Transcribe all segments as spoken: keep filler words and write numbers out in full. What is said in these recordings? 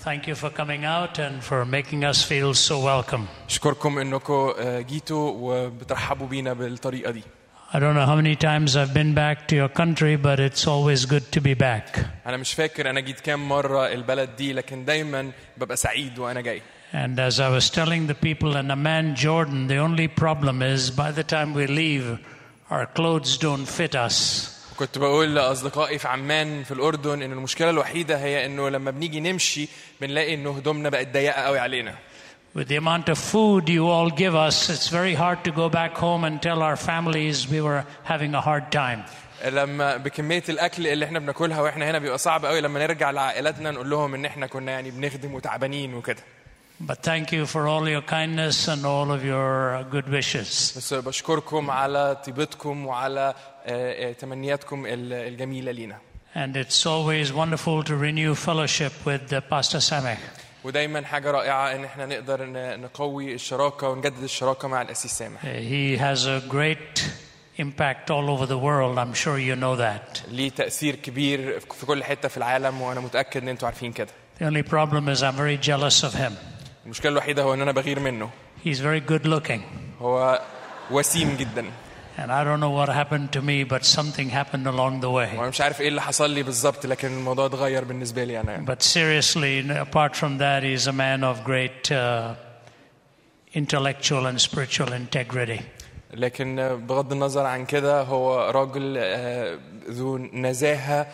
Thank you for coming out and for making us feel so welcome. أشكركم إنكم جيتوا وبترحبوا بينا بالطريقة دي. I don't know how many times I've been back to your country, but it's always good to be back. أنا مش فاكر أنا جيت كام مرة البلد دي، لكن دايماً ببقى سعيد وأنا جاي. And as I was telling the people in Amman, Jordan, the only problem is by the time we leave, our clothes don't fit us. كنت بقول لأصدقائي في عمان في الأردن إن المشكلة الوحيدة هي إنه لما بنيجي نمشي بنلاقي إنه هدومنا بقت ضيقة قوي علينا. With the amount of food you all give us, it's very hard to go back home and tell our families we were having a hard time. لما بكمية الأكل اللي إحنا بناكلها وإحنا هنا بيبقى صعب قوي لما نرجع لعائلاتنا نقول لهم إن إحنا كنا يعني بنخدم وتعبانين وكده. But thank you for all your kindness and all of your good wishes. بس بشكركم على طيبتكم وعلى تمنياتكم الجميلة لينا. And it's always wonderful to renew fellowship with Pastor Sameh. ودايما حاجة رائعة إن إحنا نقدر نقوي الشراكة ونجدد الشراكة مع الأسيس سامح. He has a great impact all over the world. I'm sure you know that. ليه تأثير كبير في كل حتة في العالم وأنا متأكد إن أنتوا عارفين كده. The only problem is I'm very jealous of him. المشكلة الوحيدة هو إن أنا بغير منه. He's very good looking. هو وسيم جدا. And I don't know what happened to me, but something happened along the way. وأنا مش عارف إيه اللي حصل لي بالضبط، لكن الموضوع اتغير بالنسبة لي أنا. But seriously, apart from that, he's a man of great uh, intellectual and spiritual integrity. لكن بغض النظر عن كده هو راجل ذو نزاهة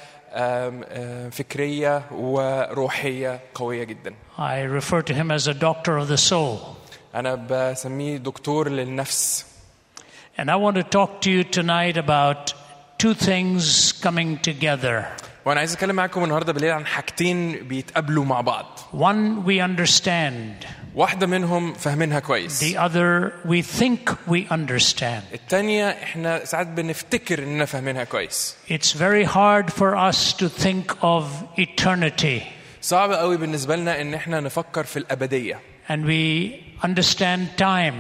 فكرية وروحية قوية جدا. I refer to him as a doctor of the soul. أنا بسميه دكتور للنفس. And I want to talk to you tonight about two things coming together. وأنا عايز أتكلم معكم النهاردة بالليل عن حاجتين بيتقابلوا مع بعض. One we understand. واحدة منهم فهمينها كويس. The other we think we understand. الثانية إحنا ساعات بنفتكر إننا فهمينها كويس. It's very hard for us to think of eternity. صعب قوي بالنسبة لنا إن إحنا نفكر في الأبدية. And we understand time.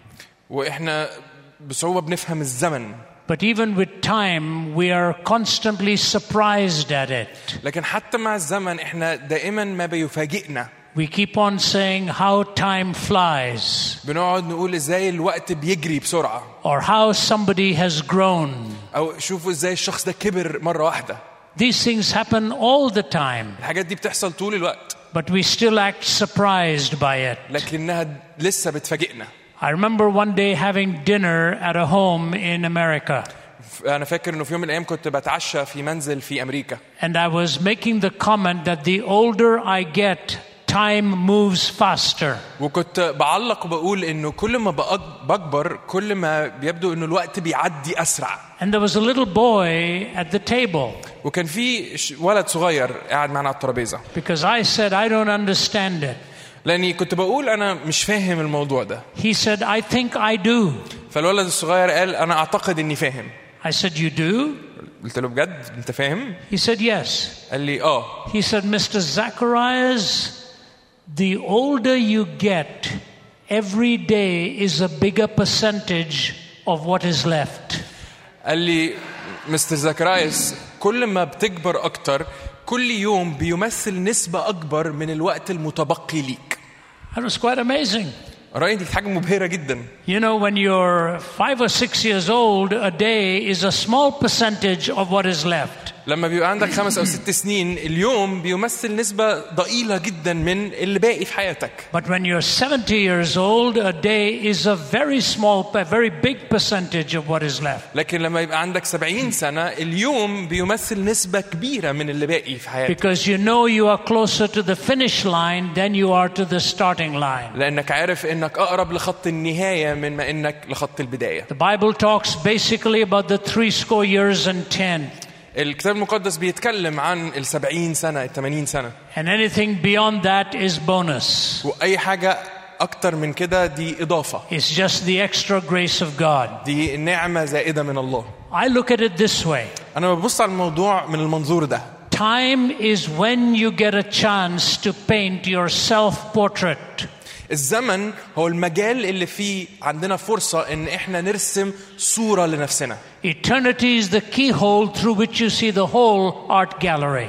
وإحنا بصعوبة بنفهم الزمن. But even with time, we are constantly surprised at it. لكن حتى مع الزمن إحنا دائما ما بيفاجئنا. We keep on saying how time flies. بنقعد نقول إزاي الوقت بيجري بسرعة. Or how somebody has grown. أو شوفوا إزاي الشخص ده كبر مرة واحدة. These things happen all the time. الحاجات دي بتحصل طول الوقت. But we still act surprised by it. لكنها لسه بتفاجئنا. I remember one day having dinner at a home in America. أنا فاكر إنه في يوم من الأيام كنت بتعشى في منزل في أمريكا. And I was making the comment that the older I get, time moves faster. وكنت بعلق وبقول إنه كل ما بكبر كل ما بيبدو إنه الوقت بيعدي أسرع. And there was a little boy at the table. وكان في ولد صغير قاعد معنا على الترابيزة. Because I said I don't understand it. لأني كنت بقول أنا مش فاهم الموضوع ده. He said I think I do. فالولد الصغير قال أنا أعتقد إني فاهم. I said you do? قلت له بجد أنت فاهم؟ He said yes. قال لي آه. He said Mister Zacharias, the older you get, every day is a bigger percentage of what is left. قال لي مستر زكرايس كل ما بتكبر أكتر كل يوم بيمثل نسبة أكبر من الوقت المتبقي ليك. That was quite amazing. رأيي دي حاجة مبهرة جدا. You know, when you're five or six years old, a day is a small percentage of what is left. لما بيبقى عندك خمس أو ست سنين اليوم بيمثل نسبة ضئيلة جدا من اللي باقي في حياتك. But when you're seventy years old, a day is a very small, a very big percentage of what is left. لكن لما يبقى عندك سبعين سنة اليوم بيمثل نسبة كبيرة من اللي باقي في حياتك. Because you know you are closer to the finish line than you are to the starting line. لأنك عارف إنك أقرب لخط النهاية من ما إنك لخط البداية. The Bible talks basically about the three score years and ten. الكتاب المقدس بيتكلم عن السبعين سنة الثمانين سنة. And anything beyond that is bonus. وأي حاجة أكتر من كده دي إضافة. It's just the extra grace of God. دي نعمة زائدة من الله. I look at it this way. أنا ببص على الموضوع من المنظور ده. Time is when you get a chance to paint your self-portrait. الزمن هو المجال اللي فيه عندنا فرصة إن إحنا نرسم صورة لنفسنا. Eternity is the keyhole through which you see the whole art gallery.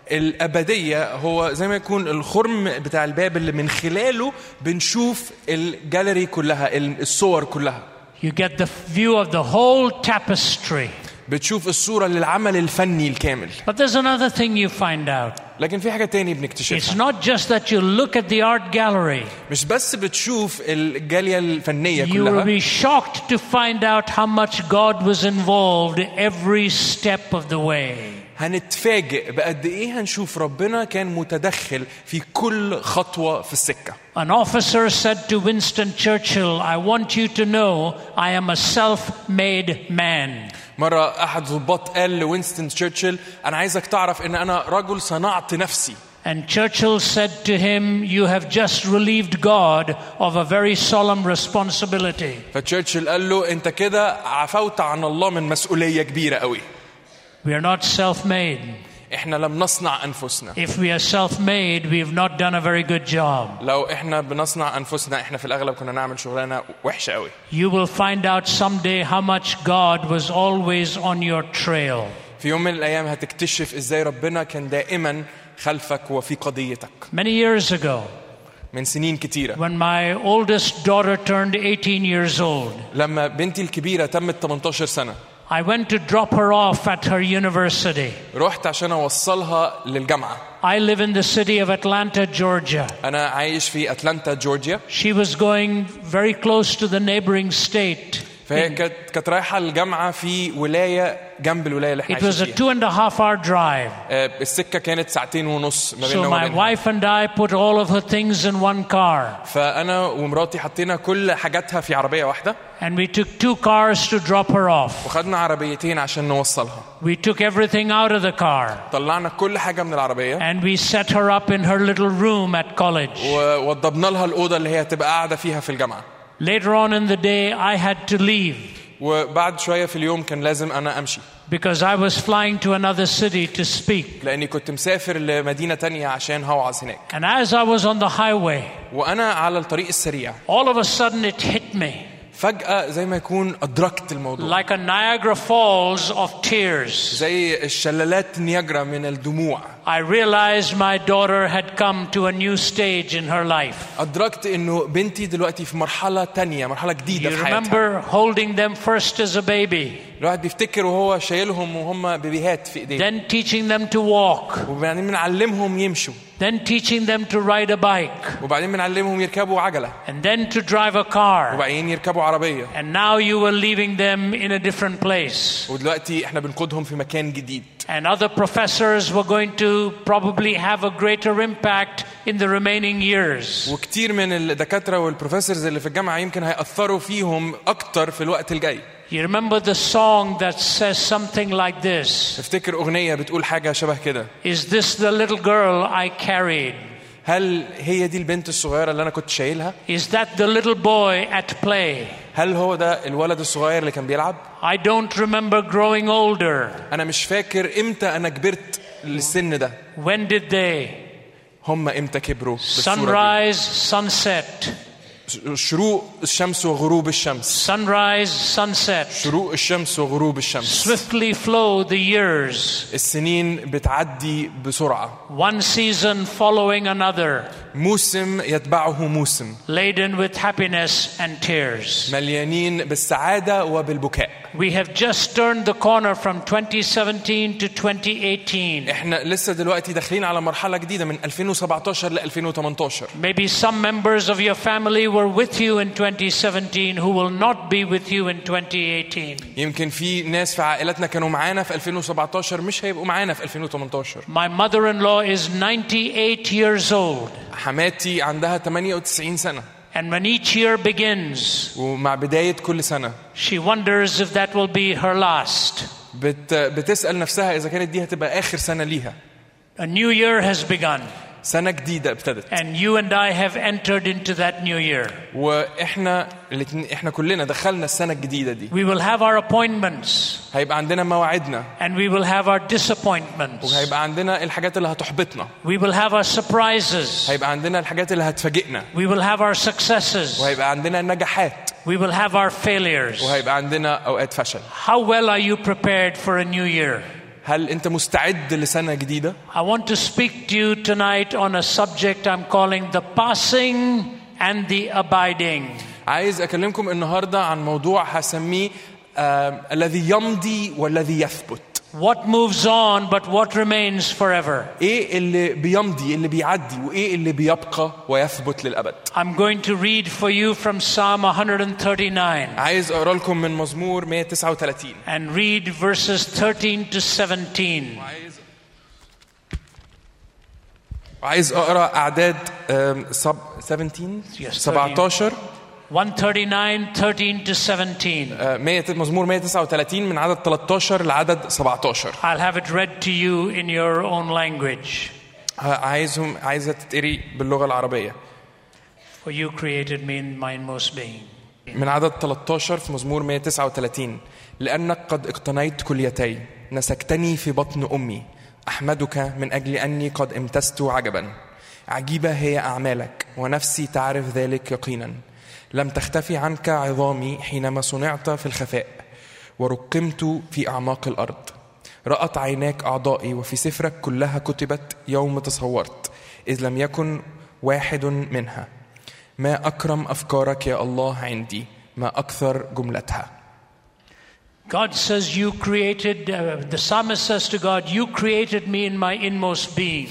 الأبدية هو زي ما يكون الخرم بتاع الباب اللي من خلاله بنشوف الجاليري كلها، الصور كلها. You get the view of the whole tapestry. بتشوف الصورة للعمل الفني الكامل. But there's another thing you find out. لكن في حاجة تاني It's بنكتشفها. not just that you look at the art gallery. مش بس بتشوف الجالية الفنية You will كلها. be shocked to find out how much God was involved every step of the way. هنتفاجئ بقد ايه هنشوف ربنا كان متدخل في كل خطوة في السكة. An officer said to Winston Churchill, I want you to know I am a self-made man. مرة أحد ضباط قال لوينستون تشرشل أنا عايزك تعرف إن أنا رجل صنعت نفسي. And Churchill said to him, you have just relieved God of a very solemn responsibility. فتشرشل قال له أنت كده عفوت عن الله من مسؤولية كبيرة قوي. We are not self-made. إحنا لم نصنع أنفسنا. If we are self-made, we have not done a very good job. لو إحنا بنصنع أنفسنا إحنا في الأغلب كنا نعمل شغلانة وحشة قوي. You will find out someday how much God was always on your trail. في يوم من الأيام هتكتشف إزاي ربنا كان دائما خلفك وفي قضيتك. Many years ago, من سنين كتيرة. when my oldest daughter turned eighteen years old, لما بنتي الكبيرة تمت ثمانية عشر سنة. I went to drop her off at her university. رحت عشان أوصلها للجامعة. I live in the city of Atlanta, Georgia. أنا عايش في أتلانتا جورجيا. She was going very close to the neighboring state. فهي كانت كانت رايحة الجامعة في ولاية جنب الولاية اللي احنا It was a عايشين two and a half hour drive. فيها. السكة كانت ساعتين ونص ما بيننا So my وبينها. wife and I put all of her things in one car. فأنا ومراتي حطينا كل حاجاتها في عربية واحدة. And we took two cars to drop her off. وخدنا عربيتين عشان نوصلها. We took everything out of the car. طلعنا كل حاجة من العربية. And we set her up in her little room at college. ووضبنا لها الأوضة اللي هي تبقى قاعدة فيها في الجامعة. Later on in the day, I had to leave. وبعد شوية في اليوم كان لازم أنا أمشي. Because I was flying to another city to speak. لأني كنت مسافر لمدينة تانية عشان هوعظ هناك. And as I was on the highway, وأنا على الطريق السريع. all of a sudden it hit me. فجأة زي ما يكون أدركت الموضوع. Like a Niagara Falls of tears. زي الشلالات نياجرا من الدموع. I realized my daughter had come to a new stage in her life. أدركت إنه بنتي دلوقتي في مرحلة تانية، مرحلة جديدة You في حياتها. remember holding them first as a baby. الواحد بيفتكر وهو شايلهم وهم بيبيهات في إيديه. Then teaching them to walk. وبعدين بنعلمهم يمشوا. Then teaching them to ride a bike. وبعدين بنعلمهم يركبوا عجلة. And then to drive a car. وبعدين يركبوا عربية. And now you were leaving them in a different place. ودلوقتي إحنا بنقودهم في مكان جديد. And other professors were going to probably have a greater impact in the remaining years. وكتير من الدكاترة والبروفيسورز اللي في الجامعة يمكن هيأثروا فيهم أكتر في الوقت الجاي. You remember the song that says something like this? افتكر أغنية بتقول حاجة شبه كده. Is this the little girl I carried? هل هي دي البنت الصغيرة اللي أنا كنت شايلها؟ Is that the little boy at play? هل هو ده الولد الصغير اللي كان بيلعب؟ I don't remember growing older. أنا مش فاكر إمتى أنا كبرت للسن ده. When did they? هم إمتى كبروا بالصورة Sunrise, sunset. دي. شروق الشمس وغروب الشمس. Sunrise, sunset. شروق الشمس وغروب الشمس. Swiftly flow the years. السنين بتعدي بسرعة. One season following another. موسم يتبعه موسم. Laden with happiness and tears. مليانين بالسعادة وبالبكاء. We have just turned the corner from twenty seventeen to twenty eighteen. احنا لسه دلوقتي داخلين على مرحلة جديدة من ألفين وسبعتاشر ل ألفين وتمنتاشر. Maybe some members of your family were with you in twenty seventeen who will not be with you in twenty eighteen. يمكن في ناس في عائلتنا كانوا معانا في ألفين وسبعتاشر مش هيبقوا معانا في ألفين وتمنتاشر. My mother-in-law is ninety-eight years old. حماتي عندها ثمانية وتسعين سنة. And when each year begins, ومع بداية كل سنة she wonders if that will be her last. بت بتسأل نفسها إذا كانت دي هتبقى آخر سنة ليها. A new year has begun. سنة جديدة ابتدت. And you and I have entered into that new year. وإحنا الاتنين إحنا كلنا دخلنا السنة الجديدة دي. We will have our appointments. هيبقى عندنا مواعيدنا. And we will have our disappointments. وهيبقى عندنا الحاجات اللي هتحبطنا. We will have our surprises. هيبقى عندنا الحاجات اللي هتفاجئنا. We will have our successes. وهيبقى عندنا النجاحات. We will have our failures. وهيبقى عندنا أوقات فشل. How well are you prepared for a new year? هل أنت مستعد لسنة جديدة؟ I want to speak to you tonight on a subject I'm calling the passing and the abiding. عايز أكلمكم النهاردة عن موضوع هسميه آه الذي يمضي والذي يثبت. What moves on but what remains forever. إيه اللي بيمضي اللي بيعدي وإيه اللي بيبقى ويثبت للأبد. I'm going to read for you from Psalm one thirty-nine. عايز أقرأ لكم من مزمور مية وتسعة وثلاثين. And read verses thirteen to seventeen. وعايز وعايز أقرأ أعداد سب سبعتاشر سبعتاشر one thirty-nine thirteen to seventeen. مية مزمور مية وتسعة وثلاثين من عدد ثلاثة عشر لعدد سبعتاشر. I'll have it read to you in your own language. عايزهم عايزة تتقري باللغة العربية. For you created me in my inmost being. من عدد ثلاثة عشر في مزمور مية وتسعة وثلاثين. لأنك قد اقتنيت كليتي نسكتني في بطن أمي أحمدك من أجل أني قد امتزت عجبا. عجيبة هي أعمالك ونفسي تعرف ذلك يقينا. لم تختفي عنك عظامي حينما صنعت في الخفاء ورقمت في أعماق الأرض. رأت عيناك أعضائي وفي سفرك كلها كتبت يوم تصورت إذ لم يكن واحد منها. ما أكرم أفكارك يا الله عندي ما أكثر جملتها. God says you created, uh, the psalmist says to God, you created me in my inmost being.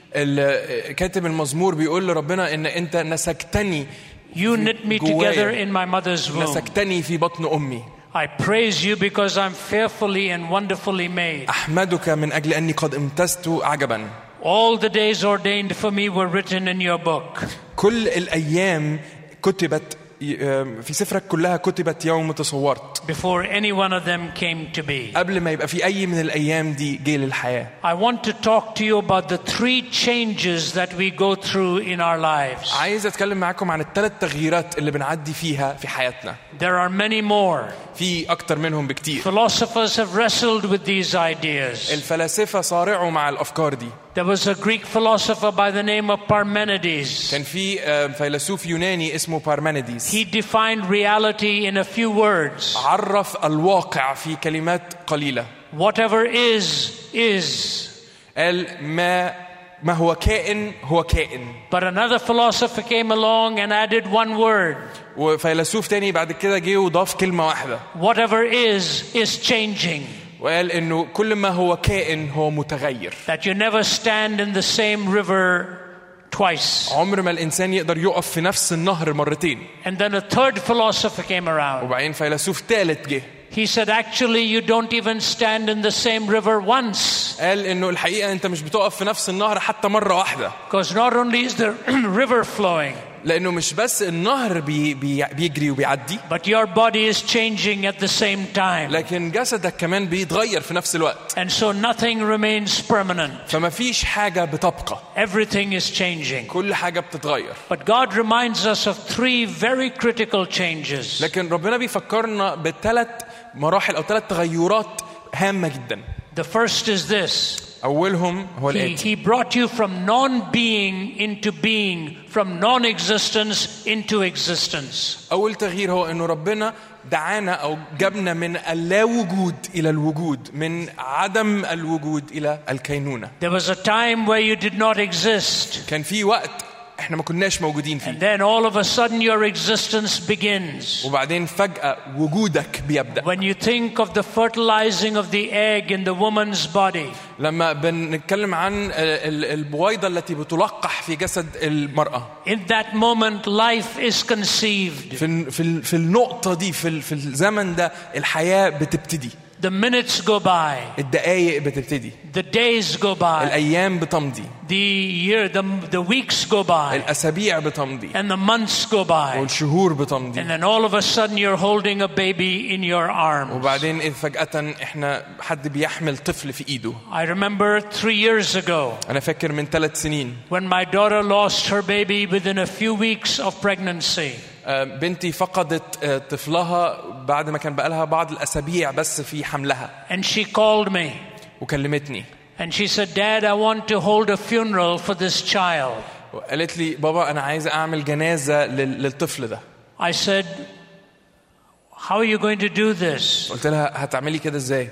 الكاتب المزمور بيقول لربنا إن أنت نسكتني. You knit me together in my mother's womb. نسكتني في بطن أمي. I praise you because I'm fearfully and wonderfully made. أحمدك من أجل أني قد امتزت عجبا. All the days ordained for me were written in your book. كل الأيام كتبت في سفرك كلها كتبت يوم تصورت. Before any one of them came to be. قبل ما يبقى في أي من الأيام دي جه للحياة. I want to talk to you about the three changes that we go through in our lives. عايز أتكلم معاكم عن الثلاث تغييرات اللي بنعدي فيها في حياتنا. There are many more. في أكتر منهم بكتير. Philosophers have wrestled with these ideas. الفلاسفة صارعوا مع الأفكار دي. There was a Greek philosopher by the name of Parmenides. كان في فيلسوف يوناني اسمه بارمينيديز. He defined reality in a few words. عرف الواقع في كلمات قليلة. Whatever is is. قال ما ما هو كائن هو كائن. But another philosopher came along and added one word. وفيلسوف تاني بعد كده جه وضاف كلمة واحدة. Whatever is is changing. وقال إنه كل ما هو كائن هو متغير. That you never stand in the same river twice. عمر ما الإنسان يقدر يقف في نفس النهر مرتين. And then a third philosopher came around. وبعدين فيلسوف ثالث جه. He said actually you don't even stand in the same river once. قال إنه الحقيقة أنت مش بتقف في نفس النهر حتى مرة واحدة. Because not only is the river flowing. لأنه مش بس النهر بي بي بيجري وبيعدي. But your body is changing at the same time. لكن جسدك كمان بيتغير في نفس الوقت. And so nothing remains permanent. فما فيش حاجة بتبقى. Everything is changing. كل حاجة بتتغير. But God reminds us of three very critical changes. لكن ربنا بيفكرنا بثلاث مراحل أو ثلاث تغيرات هامة جدا. The first is this. أولهم هو الآتي. He, he brought you from non-being into being, from non-existence into existence. أول تغيير هو إنه ربنا دعانا أو جابنا من اللا وجود إلى الوجود، من عدم الوجود إلى الكينونة. There was a time where you did not exist. كان في وقت إحنا ما كناش موجودين فيه. And then all of a sudden your existence begins. وبعدين فجأة وجودك بيبدأ. When you think of the fertilizing of the egg in the woman's body. لما بنتكلم عن البويضة التي بتلقح في جسد المرأة. In that moment life is conceived. في في في النقطة دي في في الزمن ده الحياة بتبتدي. The minutes go by. الدقايق بتبتدي. The days go by. الأيام بتمضي. The year, the the weeks go by. الأسابيع بتمضي. And the months go by. والشهور بتمضي. And then all of a sudden you're holding a baby in your arms. وبعدين إذ فجأة إحنا حد بيحمل طفل في إيده. I remember three years ago. أنا فاكر من ثلاث سنين. When my daughter lost her baby within a few weeks of pregnancy. بنتي فقدت طفلها بعد ما كان بقالها بعض الأسابيع بس في حملها. And she called me. وكلمتني. And she said, Dad, I want to hold a funeral for this child. وقالت لي بابا أنا عايزة أعمل جنازة للطفل ده. I said, how are you going to do this? قلت لها هتعملي كده إزاي؟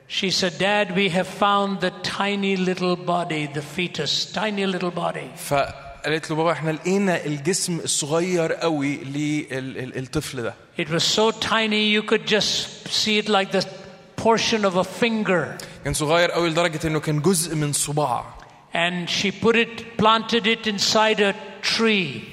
She said, Dad, we have found the tiny little body, the fetus, tiny little body. فقالت له بابا احنا لقينا الجسم الصغير قوي للطفل ده. It was so tiny you could just see it like the portion of a finger. كان صغير قوي لدرجة انه كان جزء من صباع. And she put it, planted it inside a tree.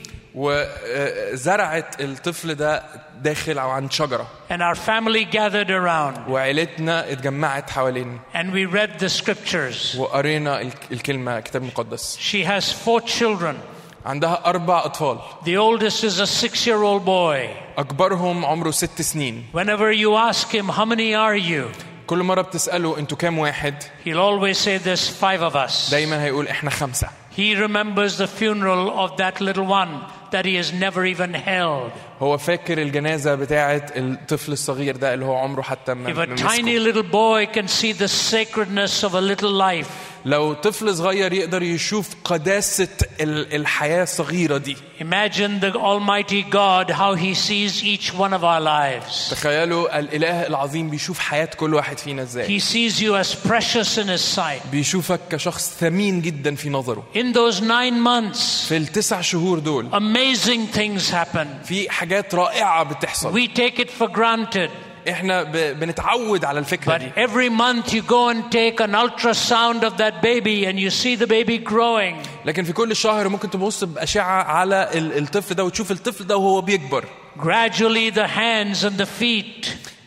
وزرعت الطفل ده داخل أو عند شجرة. And our family gathered around. وعائلتنا اتجمعت حوالين. And we read the scriptures. وقرينا الكلمة كتاب مقدس. She has four children. عندها أربع أطفال. The oldest is a six-year-old boy. أكبرهم عمره ست سنين. Whenever you ask him, how many are you? كل مرة بتسأله أنتوا كام واحد؟ He'll always say there's five of us. دايما هيقول إحنا خمسة. He remembers the funeral of that little one that he has never even held. هو فاكر الجنازة بتاعة الطفل الصغير ده اللي هو عمره حتى ما If a tiny little boy can see the sacredness of a little life, لو طفل صغير يقدر يشوف قداسة الحياة الصغيرة دي. Imagine the Almighty God how He sees each one of our lives. تخيلوا الإله العظيم بيشوف حياة كل واحد فينا إزاي. He sees you as precious in His sight. بيشوفك كشخص ثمين جدا في نظره. In those nine months, في التسع شهور دول, amazing things happen. في حاجات رائعة بتحصل. We take it for granted. إحنا بنتعود على الفكرة But دي. every month you go and take an ultrasound of that baby and you see the baby growing. لكن في كل شهر ممكن تبص بأشعة على الطفل ده وتشوف الطفل ده وهو بيكبر. Gradually the hands and the feet.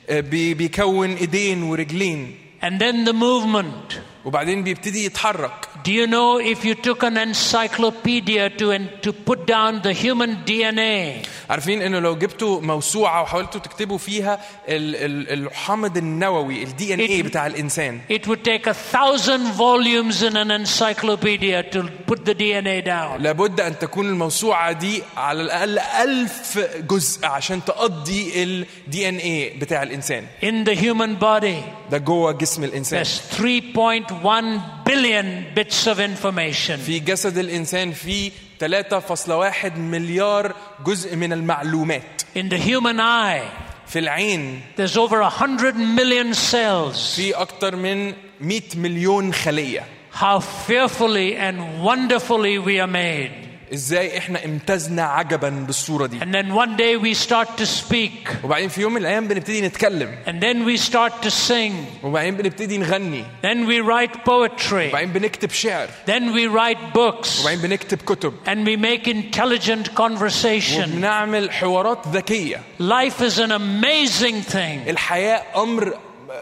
بيكون إيدين ورجلين. And then the movement. وبعدين بيبتدي يتحرك. Do you know if you took an encyclopedia to to put down the human D N A? عارفين إنه لو جبتوا موسوعة وحاولتوا تكتبوا فيها الحمض النووي ال D N A بتاع الإنسان. It would take a thousand volumes in an encyclopedia to put the D N A down. لابد أن تكون الموسوعة دي على الأقل ألف جزء عشان تقضي ال D N A بتاع الإنسان. In the human body. ده جوه جسم الإنسان. There's three point one billion bits of information. في جسد الإنسان في ثلاثة فاصلة واحد مليار جزء من المعلومات. In the human eye. في العين. There's over a hundred million cells. في أكتر من مئة مليون خلية. How fearfully and wonderfully we are made. إزاي إحنا امتزنا عجباً بالصورة دي. And then one day we start to speak. وبعدين في يوم من الأيام بنبتدي نتكلم. And then we start to sing. وبعدين بنبتدي نغني. Then we write poetry. وبعدين بنكتب شعر. Then we write books. وبعدين بنكتب كتب. And we make intelligent conversation. وبنعمل حوارات ذكية. Life is an amazing thing. الحياة أمر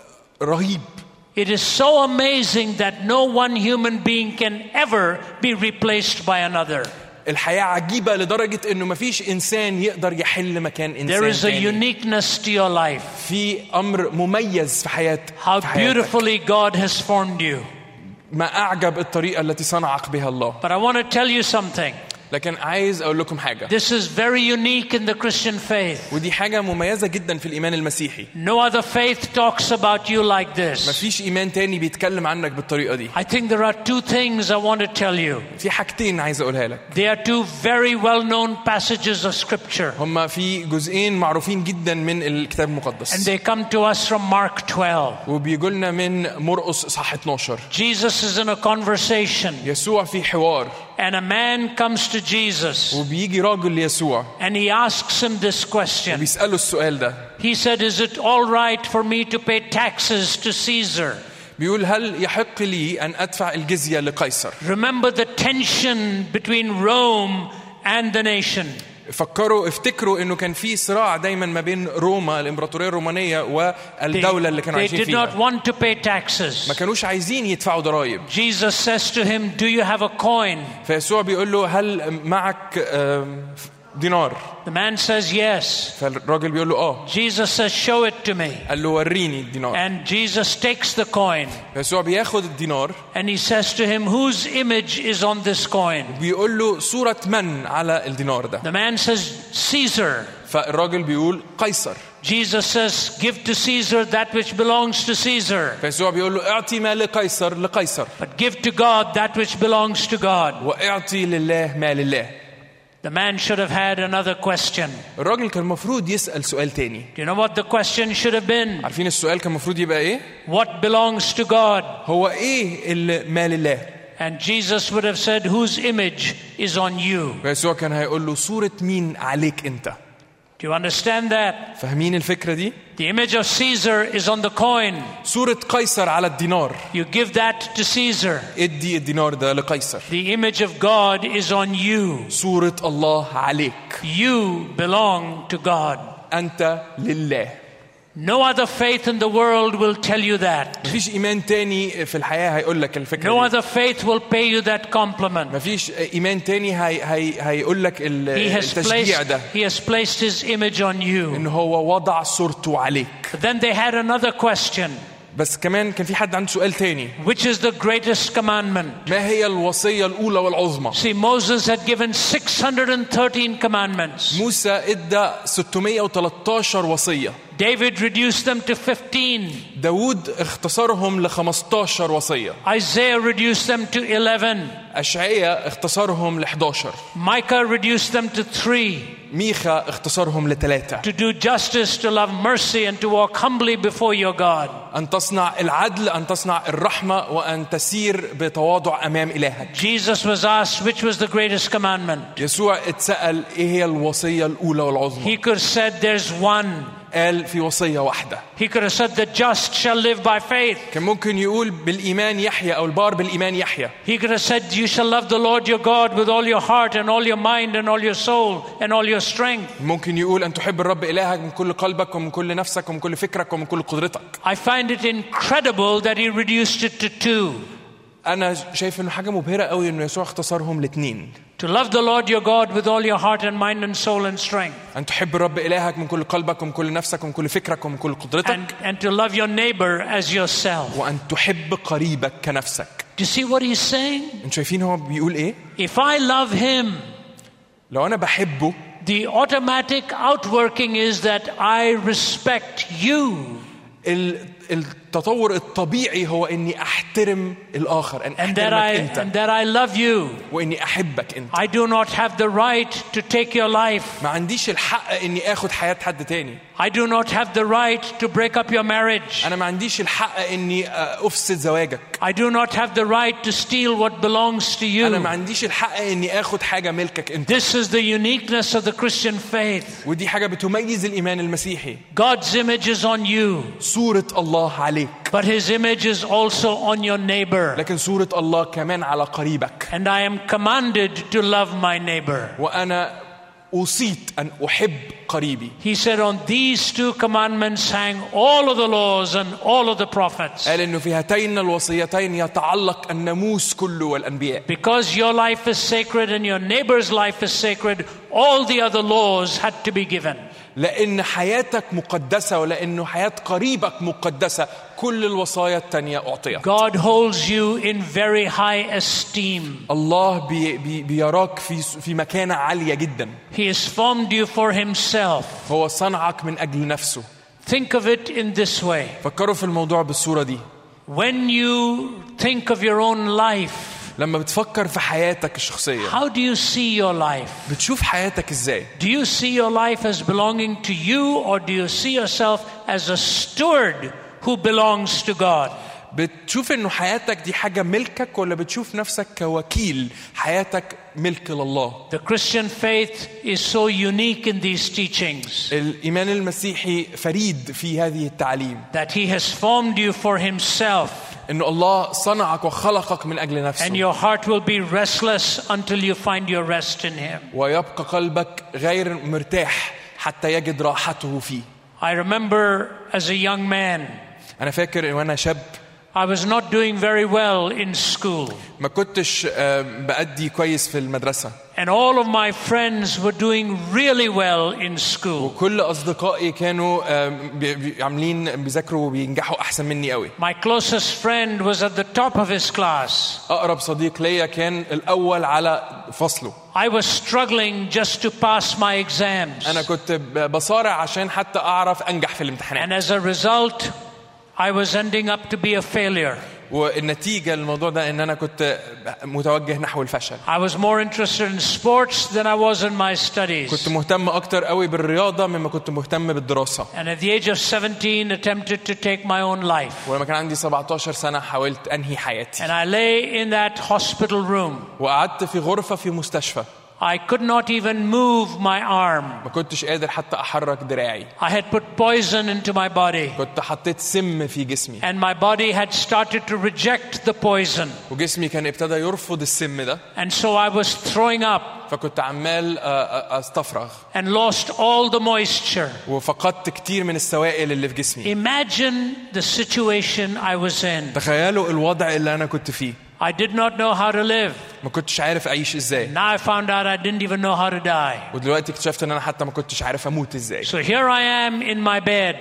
رهيب. It is so amazing that no one human being can ever be replaced by another. الحياة عجيبة لدرجة إنه ما فيش إنسان يقدر يحل مكان إنسان. There is a uniqueness to your life. في أمر مميز في حياة. How beautifully God has formed you. ما أعجب الطريقة التي صنعك بها الله. But I want to tell you something. لكن عايز أقول لكم حاجة. This is very unique in the Christian faith. ودي حاجة مميزة جدا في الإيمان المسيحي. No other faith talks about you like this. ما فيش إيمان تاني بيتكلم عنك بالطريقة دي. I think there are two things I want to tell you. في حاجتين عايز أقولها لك. They are two very well-known passages of Scripture. هما في جزئين معروفين جدا من الكتاب المقدس. And they come to us from Mark twelve. وبيقولنا من مرقس إصحاح اتناشر. Jesus is in a conversation. يسوع في حوار. And a man comes to Jesus. وبيجي راجل ليسوع. And he asks him this question. وبيسأله السؤال ده. He said, "Is it all right for me to pay taxes to Caesar?" بيقول هل يحق لي أن أدفع الجزية لقيصر؟ Remember the tension between Rome and the nation. فكروا افتكروا إنه كان في صراع دايما ما بين روما الإمبراطورية الرومانية والدولة اللي كانوا عايشين فيها. They did not want to pay taxes. ما كانوش عايزين يدفعوا ضرائب. Jesus says to him, "Do you have a coin?" فيسوع بيقول له هل معك دينار؟ The man says yes. فالراجل بيقول له آه. Jesus says, "Show it to me." قال له وريني الدينار. And Jesus takes the coin. فيسوع بياخد الدينار. And he says to him, "Whose image is on this coin?" بيقول له صورة من على الدينار ده؟ The man says, "Caesar." فالراجل بيقول قيصر. Jesus says, "Give to Caesar that which belongs to Caesar." فيسوع بيقول له اعطي ما لقيصر لقيصر. But give to God that which belongs to God. واعطي لله ما لله. The man should have had another question. الراجل كان المفروض يسأل سؤال تاني. Do you know what the question should have been? عارفين السؤال كان المفروض يبقى ايه؟ What belongs to God? هو ايه اللي ما لله؟ And Jesus would have said, whose image is on you? يسوع كان هيقول له صورة مين عليك انت؟ Do you understand that? فاهمين الفكرة دي؟ The image of Caesar is on the coin. صورة قيصر على الدينار. You give that to Caesar. ادي الدينار ده لقيصر. The image of God is on you. صورة الله عليك. You belong to God. أنت لله. No other faith in the world will tell you that. مفيش إيمان تاني في الحياة هيقول لك الفكرة No دي. other faith will pay you that compliment. مفيش إيمان تاني هي هي هيقول لك He has التشجيع placed, ده. he has placed his image on you. إن هو وضع صورته عليك. But then they had another question. بس كمان كان في حد عنده سؤال تاني. Which is the greatest commandment? ما هي الوصية الأولى والعظمى؟ See, Moses had given six hundred thirteen commandments. موسى ادى ستمائة وثلاثة عشر وصية. David reduced them to fifteen. داود اختصرهم ل خمسة عشر وصية. Isaiah reduced them to eleven. أشعياء اختصرهم ل إحدى عشر. Micah reduced them to three. ميخا اختصرهم لثلاثة. To do justice, to love mercy, and to walk humbly before your God. أن تصنع العدل، أن تصنع الرحمة، وأن تسير بتواضع أمام إلهك. Jesus was asked which was the greatest commandment. يسوع اتسأل إيه هي الوصية الأولى والعظمى. He could have said there's one. قال في وصية واحدة. He could have said the just shall live by faith. كان ممكن يقول بالإيمان يحيى أو البار بالإيمان يحيى. He could have said you shall love the Lord your God with all your heart and all your mind and all your soul and all your strength. ممكن يقول أن تحب الرب إلهك من كل قلبك ومن كل نفسك ومن كل فكرك ومن كل قدرتك. I find it incredible that he reduced it to two. أنا شايف إنه حاجة مبهرة قوي إنه يسوع اختصرهم لاثنين. To love the Lord your God with all your heart and mind and soul and strength. أن تحب الرب إلهك من كل قلبك ومن كل نفسك ومن كل فكرك ومن كل قدرتك. And, and to love your neighbor as yourself. وأن تحب قريبك كنفسك. Do you see what he's saying? أنتوا شايفين هو بيقول إيه؟ If I love him, لو أنا بحبه, the automatic outworking is that I respect you. التطور الطبيعي هو إني أحترم الآخر، أن And that I أحترمك أنت. and that I love you. وإني أحبك أنت. I do not have the right to take your life. ما عنديش الحق إني آخد حياة حد تاني. I do not have the right to break up your marriage. أنا ما عنديش الحق إني أفسد زواجك. I do not have the right to steal what belongs to أنا ما you. عنديش الحق إني آخد حاجة ملكك أنت. This is the uniqueness of the Christian faith. ودي حاجة بتميز الإيمان المسيحي. God's image is on you, صورة الله عليك. but his image is also on your neighbor. لكن صورة الله كمان على قريبك. And I am commanded to love my neighbor. وأنا أوصيت أن أحب قريبي. He said on these two commandments hang all of the laws and all of the prophets. قال إنه في هاتين الوصيتين يتعلق الناموس كله والأنبياء. Because your life is sacred and your neighbor's life is sacred, all the other laws had to be given. لأن حياتك مقدسة ولأنه حياة قريبك مقدسة كل الوصايا التانية أعطيت. God holds you in very high esteem. الله بي بي بيراك في في مكانة عالية جدا. He has formed you for himself. هو صنعك من أجل نفسه. Think of it in this way. فكروا في الموضوع بالصورة دي. When you think of your own life, لما بتفكر في حياتك الشخصية, how do you see your life? بتشوف حياتك إزاي؟ Do you see your life as belonging to you, or do you see yourself as a steward who belongs to God? بتشوف إنه حياتك دي حاجة ملكك ولا بتشوف نفسك كوكيل حياتك ملك لله؟ The Christian faith is so unique in these teachings الإيمان المسيحي فريد في هذه التعليم. that he has formed you for himself. إنه الله صنعك وخلقك من أجل نفسه. And your heart will be restless until you find your rest in him. ويبقى قلبك غير مرتاح حتى يجد راحته فيه. I remember as a young man, أنا فاكر وأنا شاب I was not doing very well in school. ما كنتش بأدي كويس في المدرسة. And all of my friends were doing really well in school. وكل أصدقائي كانوا عاملين بيذاكروا وبينجحوا أحسن مني قوي. My closest friend was at the top of his class. أقرب صديق ليا كان الأول على فصله. I was struggling just to pass my exams. أنا كنت بصارع عشان حتى أعرف أنجح في الامتحانات. And as a result, I was ending up to be a failure. والنتيجة للموضوع ده إن أنا كنت متوجه نحو الفشل. I was more interested in sports than I was in my studies. كنت مهتم أكتر قوي بالرياضة مما كنت مهتم بالدراسة. And at the age of seventeen, attempted to take my own life. ولما كان عندي سبعتاشر سنة حاولت أنهي حياتي. And I lay in that hospital room. وقعدت في غرفة في مستشفى. I could not even move my arm. ما كنتش قادر حتى أحرك دراعي. I had put poison into my body. كنت حطيت سم في جسمي. And my body had started to reject the poison. وجسمي كان ابتدى يرفض السم ده. And so I was throwing up. فكنت عمال أستفرغ. And lost all the moisture. وفقدت كتير من السوائل اللي في جسمي. Imagine the situation I was in. تخيلوا الوضع اللي أنا كنت فيه. I did not know how to live. ما كنتش عارف أعيش إزاي. Now I found out I didn't even know how to die. ودلوقتي اكتشفت إن أنا حتى ما كنتش عارف أموت إزاي. So here I am in my bed.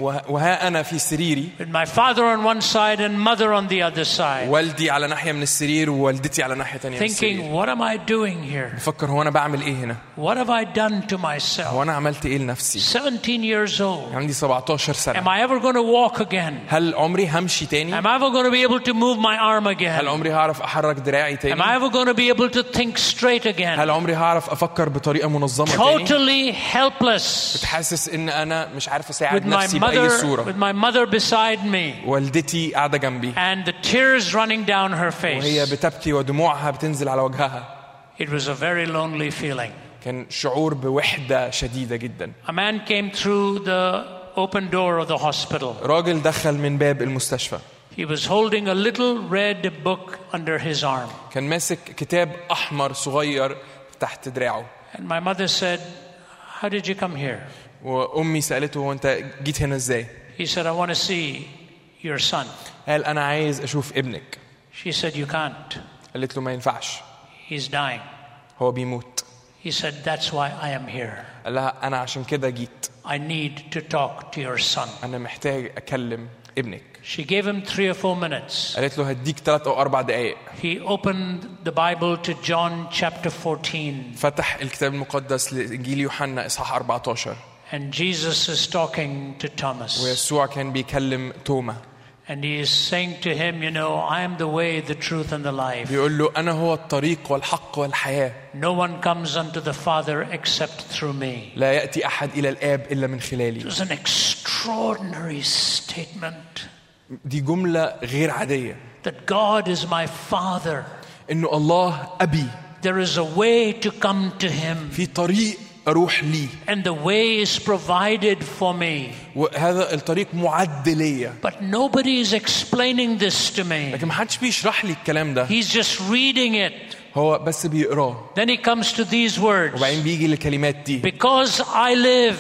وها أنا في سريري. With my father on one side and mother on the other side. والدي على ناحية من السرير ووالدتي على ناحية تانية من السرير. Thinking, what am I doing here? بفكر هو أنا بعمل إيه هنا؟ What have I done to myself? هو أنا عملت إيه لنفسي؟ seventeen years old. عندي سبعتاشر سنة. Am I ever going to walk again? هل عمري همشي تاني؟ Am I ever going to be able to move my arm هل again? عمري هعرف أحرك دراعي Am تاني؟ I ever going to be able to think straight again? هل عمري هعرف أفكر بطريقة منظمة تاني؟ Totally helpless. بتحسس إن أنا مش عارف With أساعد my نفسي بأي mother, صورة. with my mother beside me. والدتي قاعدة جنبي. And the tears running down her وهي face. بتبكي ودموعها بتنزل على وجهها. It was a very lonely feeling. كان شعور بوحدة شديدة جدا. A man came through the open door of the hospital. راجل دخل من باب المستشفى. He was holding a little red book under his arm. كان ماسك كتاب أحمر صغير تحت دراعه. And my mother said, "How did you come here?" وأمي سألته وأنت جيت هنا إزاي؟ He said, "I want to see your son." قال أنا عايز أشوف ابنك. She said, "You can't. قالت له ما ينفعش. He's dying." هو بيموت. He said, "That's why I am here. قال لها أنا عشان كده جيت. I need to talk to your son." أنا محتاج أكلم ابنك. She gave him three or four minutes. قالت له هديك ثلاث أو أربع دقايق. He opened the Bible to John chapter fourteen. فتح الكتاب المقدس لإنجيل يوحنا إصحاح أربعتاشر. And Jesus is talking to Thomas. ويسوع كان بيكلم توما. And he is saying to him, you know, I am the way, the truth, and the life. بيقول له أنا هو الطريق والحق والحياة. No one comes unto the Father except through me. لا يأتي أحد إلى الآب إلا من It خلالي. was an extraordinary statement. دي جملة غير عادية. That God is my Father. إنه الله أبي. There is a way to come to Him. في طريق أروح لي. And the way is provided for me. وهذا الطريق معد ليا. But nobody is explaining this to me. لكن ما حدش بيشرح لي الكلام ده. He's just reading it. هو بس بيقراه. Then he comes to these words. وبعدين بيجي للكلمات دي. Because I live.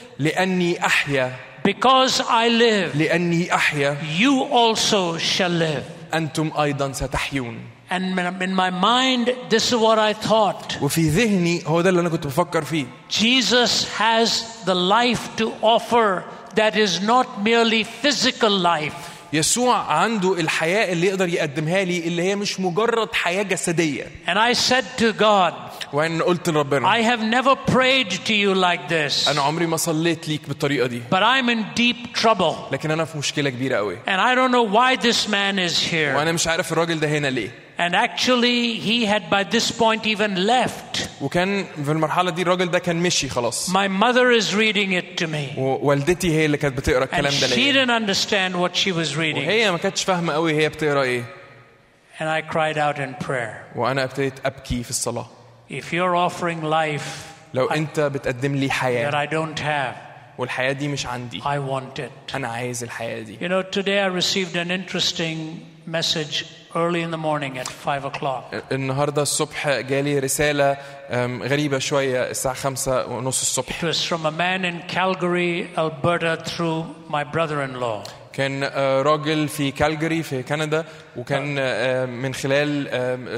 لأني أحيا. Because I live. لأني أحيا. You also shall live. أنتم أيضا ستحيون. And in my mind, this is what I thought. وفي ذهني هو ده اللي أنا كنت بفكر فيه. Jesus has the life to offer that is not merely physical life. يسوع عنده الحياة اللي يقدر يقدمها لي اللي هي مش مجرد حياة جسدية. And I said to God, وأنا قلت لربنا I have never prayed to you like this. أنا عمري ما صليت ليك بالطريقة دي. But I'm in deep trouble. لكن أنا في مشكلة كبيرة قوي. And I don't know why this man is here. وأنا مش عارف الراجل ده هنا ليه. And actually he had by this point even left. وكان في المرحلة دي الراجل ده كان مشي خلاص. My mother is reading it to me. ووالدتي هي اللي كانت بتقرأ الكلام And ده she ليا. didn't understand what she was reading. وهي ما كانتش فاهمة قوي هي بتقرأ إيه. And I cried out in prayer. وأنا ابتديت أبكي في الصلاة. If you're offering life لو أنت بتقدم لي that حياة I don't have, والحياة دي مش عندي. I want it. أنا عايز الحياة دي. You know, today I received an interesting message early in the morning at five o'clock. النهاردة الصبح جالي رسالة غريبة شوية الساعة خمسة ونص الصبح. It was from a man in Calgary, Alberta, through my brother-in-law. كان راجل في كالجاري في كندا وكان من خلال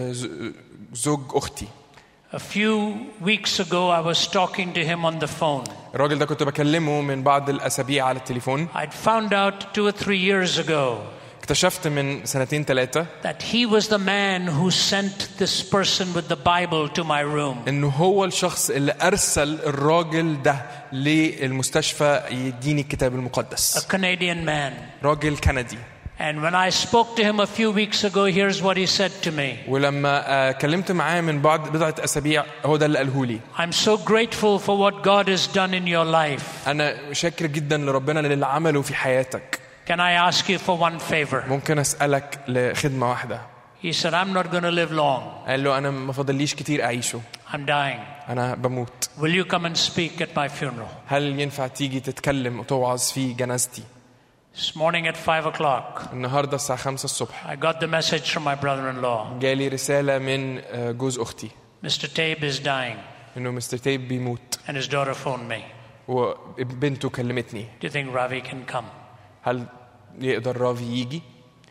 زوج أختي. A few weeks ago I was talking to him on the phone. الراجل ده كنت بكلمه من بعض الأسابيع على التليفون. I'd found out two or three years ago اكتشفت من سنتين ثلاثة that he was the man who sent this person with the Bible to my room. إنه هو الشخص اللي أرسل الراجل ده للمستشفى يديني الكتاب المقدس. A Canadian man. راجل كندي. And when I spoke to him a few weeks ago, here's what he said to me. ولما آه كلمت معاه من بعد بضعة أسابيع هو ده اللي قاله لي. I'm so grateful for what God has done in your life. أنا شاكر جدا لربنا للي عمله في حياتك. Can I ask you for one favor? ممكن أسألك لخدمة واحدة. He said, I'm not going to live long. قال له أنا ما فاضليش كتير أعيشه. I'm dying. أنا بموت. Will you come and speak at my funeral? هل ينفع تيجي تتكلم وتوعظ في جنازتي؟ This morning at five o'clock, النهاردة الساعة خمسة الصبح. I got the message from my brother-in-law. جالي رسالة من جوز أختي. Mister Tabe is dying. إنه مستر تيب بيموت. And his daughter phoned me. وبنته كلمتني. Do you think Ravi can come? هل يقدر رافي يجي؟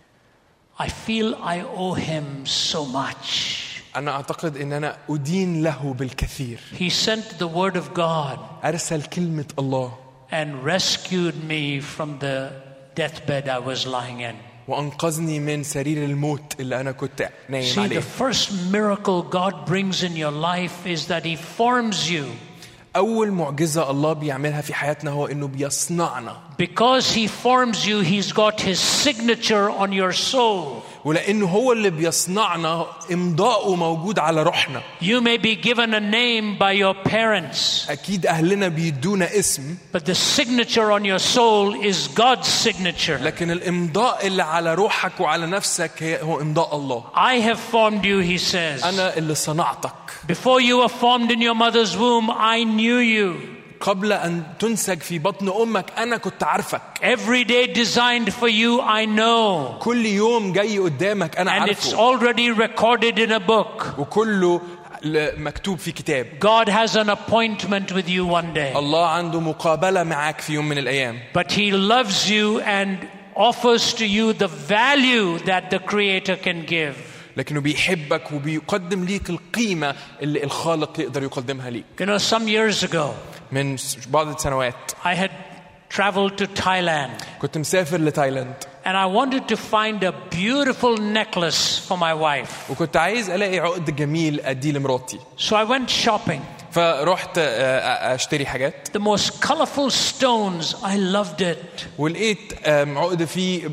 I feel I owe him so much. أنا أعتقد إن أنا أدين له بالكثير. He sent the word of God. أرسل كلمة الله. And rescued me from the deathbed I was lying in. وأنقذني من سرير الموت اللي أنا كنت نايم See, عليه. the first miracle God brings in your life is that He forms you. أول معجزة الله بيعملها في حياتنا هو إنه بيصنعنا. Because He forms you, He's got His signature on your soul. ولأنه هو اللي بيصنعنا إمضاؤه موجود على روحنا. You may be given a name by your parents. أكيد أهلنا بيدونا اسم. But the signature on your soul is God's signature. لكن الإمضاء اللي على روحك وعلى نفسك هو إمضاء الله. I have formed you, He says. أنا اللي صنعتك. Before you were formed in your mother's womb, I knew you. قبل أن تنسج في بطن أمك أنا كنت عارفك. Every day designed for you, I know. كل يوم جاي قدامك أنا And it's عارفه. already recorded in a book. وكله مكتوب في كتاب. God has an appointment with you one day. الله عنده مقابلة معك في يوم من الأيام. But He loves you and offers to you the value that the Creator can give. لكنه بيحبك وبيقدم ليك القيمة اللي الخالق يقدر يقدمها ليك. You know, some years ago, من بعض السنوات I had traveled to Thailand. كنت مسافر لتايلاند. And I wanted to find a beautiful necklace for my wife. وكنت عايز ألاقي عقد جميل أديه لمراتي. So I went shopping. فرحت أشتري حاجات. The most colorful stones, I loved it. ولقيت عقد فيه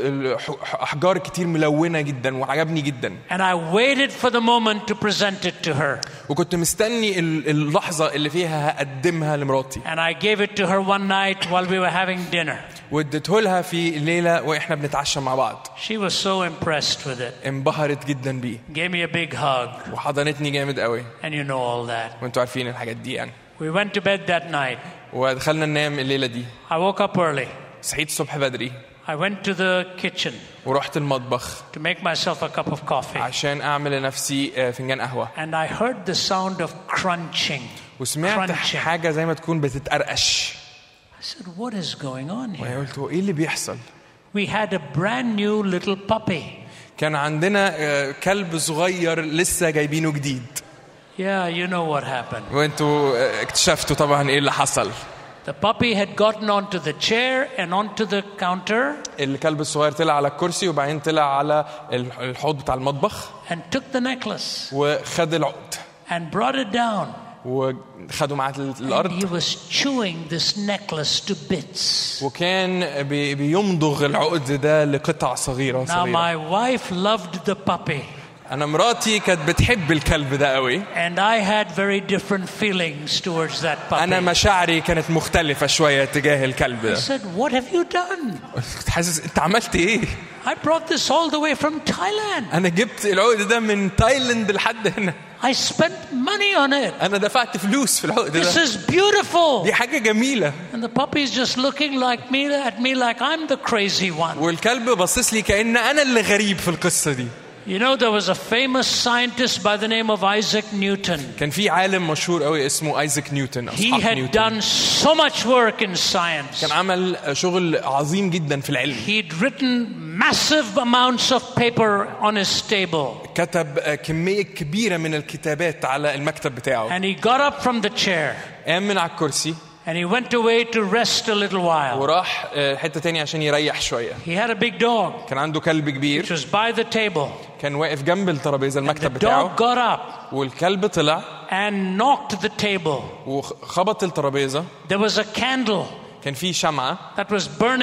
أحجار كتير ملونة جدا وعجبني جدا. And I waited for the moment to present it to her. وكنت مستني اللحظة اللي فيها هقدمها لمراتي. And I gave it to her one night while we were having dinner. واديته لها في الليلة وإحنا بنتعشى مع بعض. She was so impressed with it. انبهرت جدا بيه. Gave me a big hug. وحضنتني جامد قوي. And you know all that. وانتوا عارفين الحاجات دي يعني. We went to bed that night. ودخلنا ننام الليلة دي. I woke up early. صحيت الصبح بدري. I went to the kitchen. ورحت المطبخ. To make myself a cup of coffee. عشان أعمل لنفسي فنجان قهوة. And I heard the sound of crunching. وسمعت حاجة زي ما تكون بتتقرقش. I said, what is going on here? وقلت إيه اللي بيحصل؟ We had a brand new little puppy. كان عندنا كلب صغير لسه جايبينه جديد. Yeah, you know what happened. وانتوا اكتشفتوا طبعا ايه اللي حصل. The puppy had gotten onto the chair and onto the counter. الكلب الصغير طلع على الكرسي وبعدين طلع على الحوض بتاع المطبخ. And took the necklace. وخد العقد. And brought it down. وخدوا معاه الأرض. And he was chewing this necklace to bits. وكان بي بيمضغ العقد ده لقطع صغيرة صغيرة. Now my wife loved the puppy. أنا مراتي كانت بتحب الكلب ده قوي. And I had very different feelings towards that puppy. أنا مشاعري كانت مختلفة شوية تجاه الكلب ده. I said, what have you done? حاسس أنت عملت إيه؟ I brought this all the way from Thailand. أنا جبت العقد ده من تايلاند لحد هنا. I spent money on it. أنا دفعت فلوس في العقد ده. This is beautiful. دي حاجة جميلة. And the puppy is just looking like me at me like I'm the crazy one. والكلب باصص لي كأن أنا اللي غريب في القصة دي. You know, there was a famous scientist by the name of Isaac Newton. كان في عالم مشهور قوي اسمه ايزاك نيوتن. He had done so much work in science. كان عمل شغل عظيم جدا في العلم. He'd written massive amounts of paper on his table. كتب كمية كبيرة من الكتابات على المكتب بتاعه. And he got up from the chair. قام من على الكرسي. And he went away to rest a little while. وراح حتة تانية عشان يريح شوية. He had a big dog. كان عنده كلب كبير. Which was by the table. كان واقف جنب الترابيزة المكتب the بتاعه. dog got up. والكلب طلع. And knocked the table. وخبط الترابيزة. There was a candle. كان في شمعة. That was burning.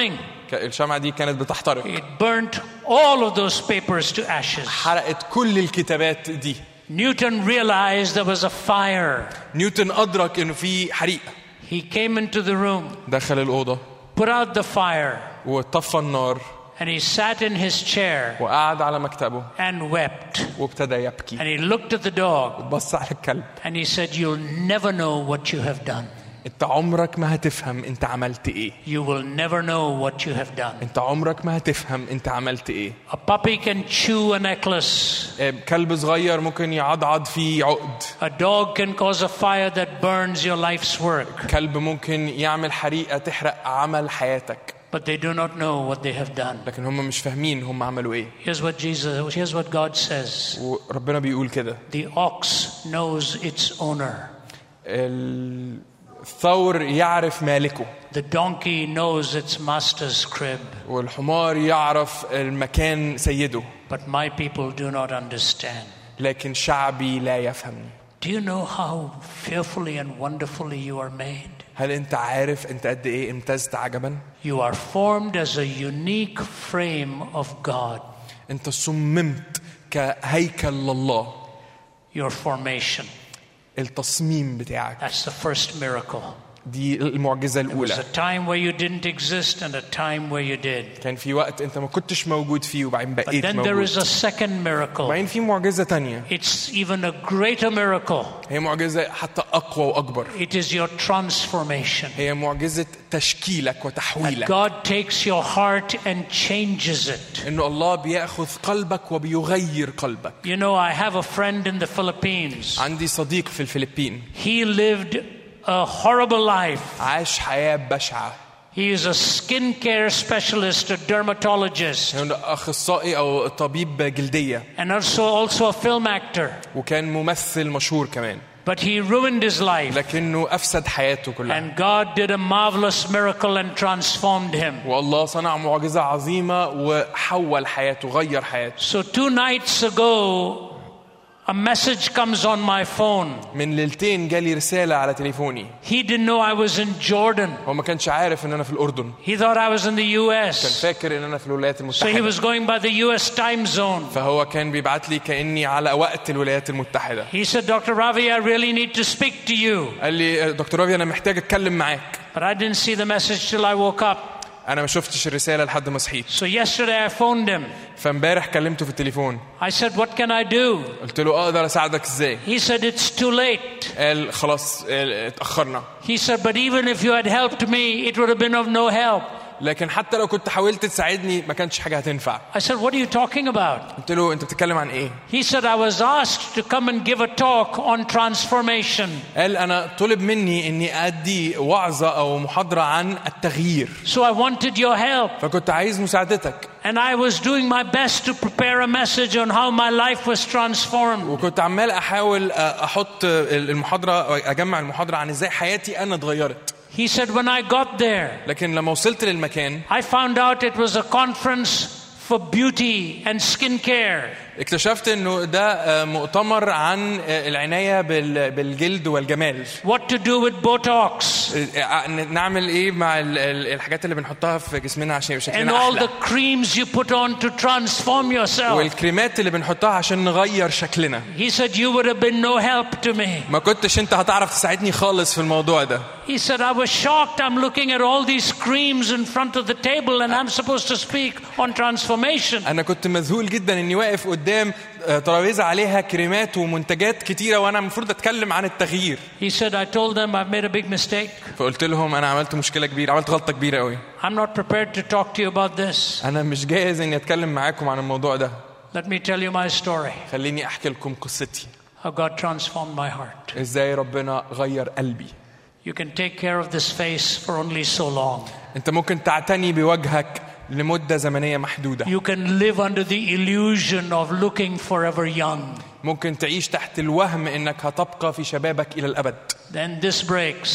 الشمعة دي كانت بتحترق. It burnt all of those papers to ashes. حرقت كل الكتابات دي. Newton realized there was a fire. نيوتن أدرك إنه في حريق. He came into the room. دخل الأوضة. Put out the fire. وطفى النار. And he sat in his chair. وقعد على مكتبه. And wept. وابتدى يبكي. And he looked at the dog. بص على الكلب. And he said, "You'll never know what you have done." انت عمرك ما هتفهم انت عملت ايه. You will never know what you have done. انت عمرك ما هتفهم انت عملت ايه. A puppy can chew a necklace. كلب صغير ممكن يعضعض فيه عقد. A dog can cause a fire that burns your life's work. كلب ممكن يعمل حريقة تحرق عمل حياتك. But they do not know what they have done. لكن هم مش فاهمين هم عملوا ايه. Here's what Jesus, here's what God says. وربنا بيقول كده. The ox knows its owner. الثور يعرف مالكه. The donkey knows its master's crib. والحمار يعرف المكان سيده. But my people do not understand. لكن شعبي لا يفهمني. Do you know how fearfully and wonderfully you are made? هل انت عارف انت قد ايه امتزت عجبا؟ You are formed as a unique frame of God. انت صممت كهيكل لله. Your formation. التصميم بتاعك. That's the first miracle. دي المعجزة There was الأولى. a time where you didn't exist and a time where you did. كان في وقت انت ما كنتش موجود فيه وبعدين But بقيت then there موجود. is a second miracle. وبعدين في معجزة تانية. It's even a greater miracle. هي معجزة حتى أقوى وأكبر. It is your transformation. هي معجزة تشكيلك That وتحويلك. God takes your heart and changes it. إنه الله بيأخذ قلبك وبيغير قلبك. You know, I have a friend in the Philippines. عندي صديق في الفلبين. He lived a horrible life. عاش حياة بشعة. He is a skincare specialist, a dermatologist, هو أخصائي أو طبيب جلدية. and also also a film actor. وكان ممثل مشهور كمان. But he ruined his life. لكنه أفسد حياته كلها. And God did a marvelous miracle and transformed him. والله صنع معجزة عظيمة وحول حياته غير حياته. So two nights ago, a message comes on my phone. من ليلتين جالي رسالة على تليفوني. He didn't know I was in Jordan. هو ما كانش عارف إن أنا في الأردن. He thought I was in the U كان S. فاكر إن أنا في الولايات So he المتحدة. was going by the U S time zone. فهو كان بيبعت لي كأني على وقت الولايات المتحدة. He said, "Doctor Ravi, I really need to speak to you." قال لي دكتور رافي أنا محتاج أتكلم معاك. But I didn't see the message till I woke up. أنا ما شفتش الرسالة لحد ما صحيت. So yesterday I phoned him. فامبارح كلمته في التليفون. I said, "What can I do?" قلت له أقدر أساعدك إزاي؟ He said, "It's too late." قال خلاص اتأخرنا. He said, "But even if you had helped me, it would have been of no help." لكن حتى لو كنت حاولت تساعدني ما كانش حاجة هتنفع. I said, "What are you talking about?" قلت له أنت بتتكلم عن إيه؟ He said, "I was asked to come and give a talk on transformation." قال أنا طلب مني إني أدي وعظة أو محاضرة عن التغيير. So I wanted your help. فكنت عايز مساعدتك. And I was doing my best to prepare a message on how my life was transformed. وكنت عمال أحاول أحط المحاضرة أجمع المحاضرة عن إزاي حياتي أنا اتغيرت. He said, "When I got there, لكن لما وصلت للمكان I found out it was a conference for beauty and skincare." اكتشفت انه ده مؤتمر عن العناية بالجلد والجمال. What to do with Botox. نعمل ايه مع الحاجات اللي بنحطها في جسمنا عشان And شكلنا all احلى. the creams you put on to transform yourself. والكريمات اللي بنحطها عشان نغير شكلنا. He said, "You would have been no help to me." ما كنتش انت هتعرف تساعدني خالص في الموضوع ده. He said, "I was shocked. I'm looking at all these creams in front of the table and I'm supposed to speak on transformation." انا كنت مذهول جدا اني واقف قدام ترابيزة عليها كريمات ومنتجات كتيرة وانا المفروض اتكلم عن التغيير. He said, "I told them I've made a big mistake. فقلت لهم انا عملت مشكلة كبيرة، عملت غلطة كبيرة قوي. I'm not prepared to talk to you about this. انا مش جاهز اني اتكلم معاكم عن الموضوع ده. Let me tell you my story. خليني احكي لكم قصتي. How God transformed my heart. ازاي ربنا غير قلبي. You can take care of this face for only so long. انت ممكن تعتني بوجهك لمدة زمنية محدودة. You can live under the illusion of looking forever young. ممكن تعيش تحت الوهم انك هتبقى في شبابك الى الابد. Then this breaks.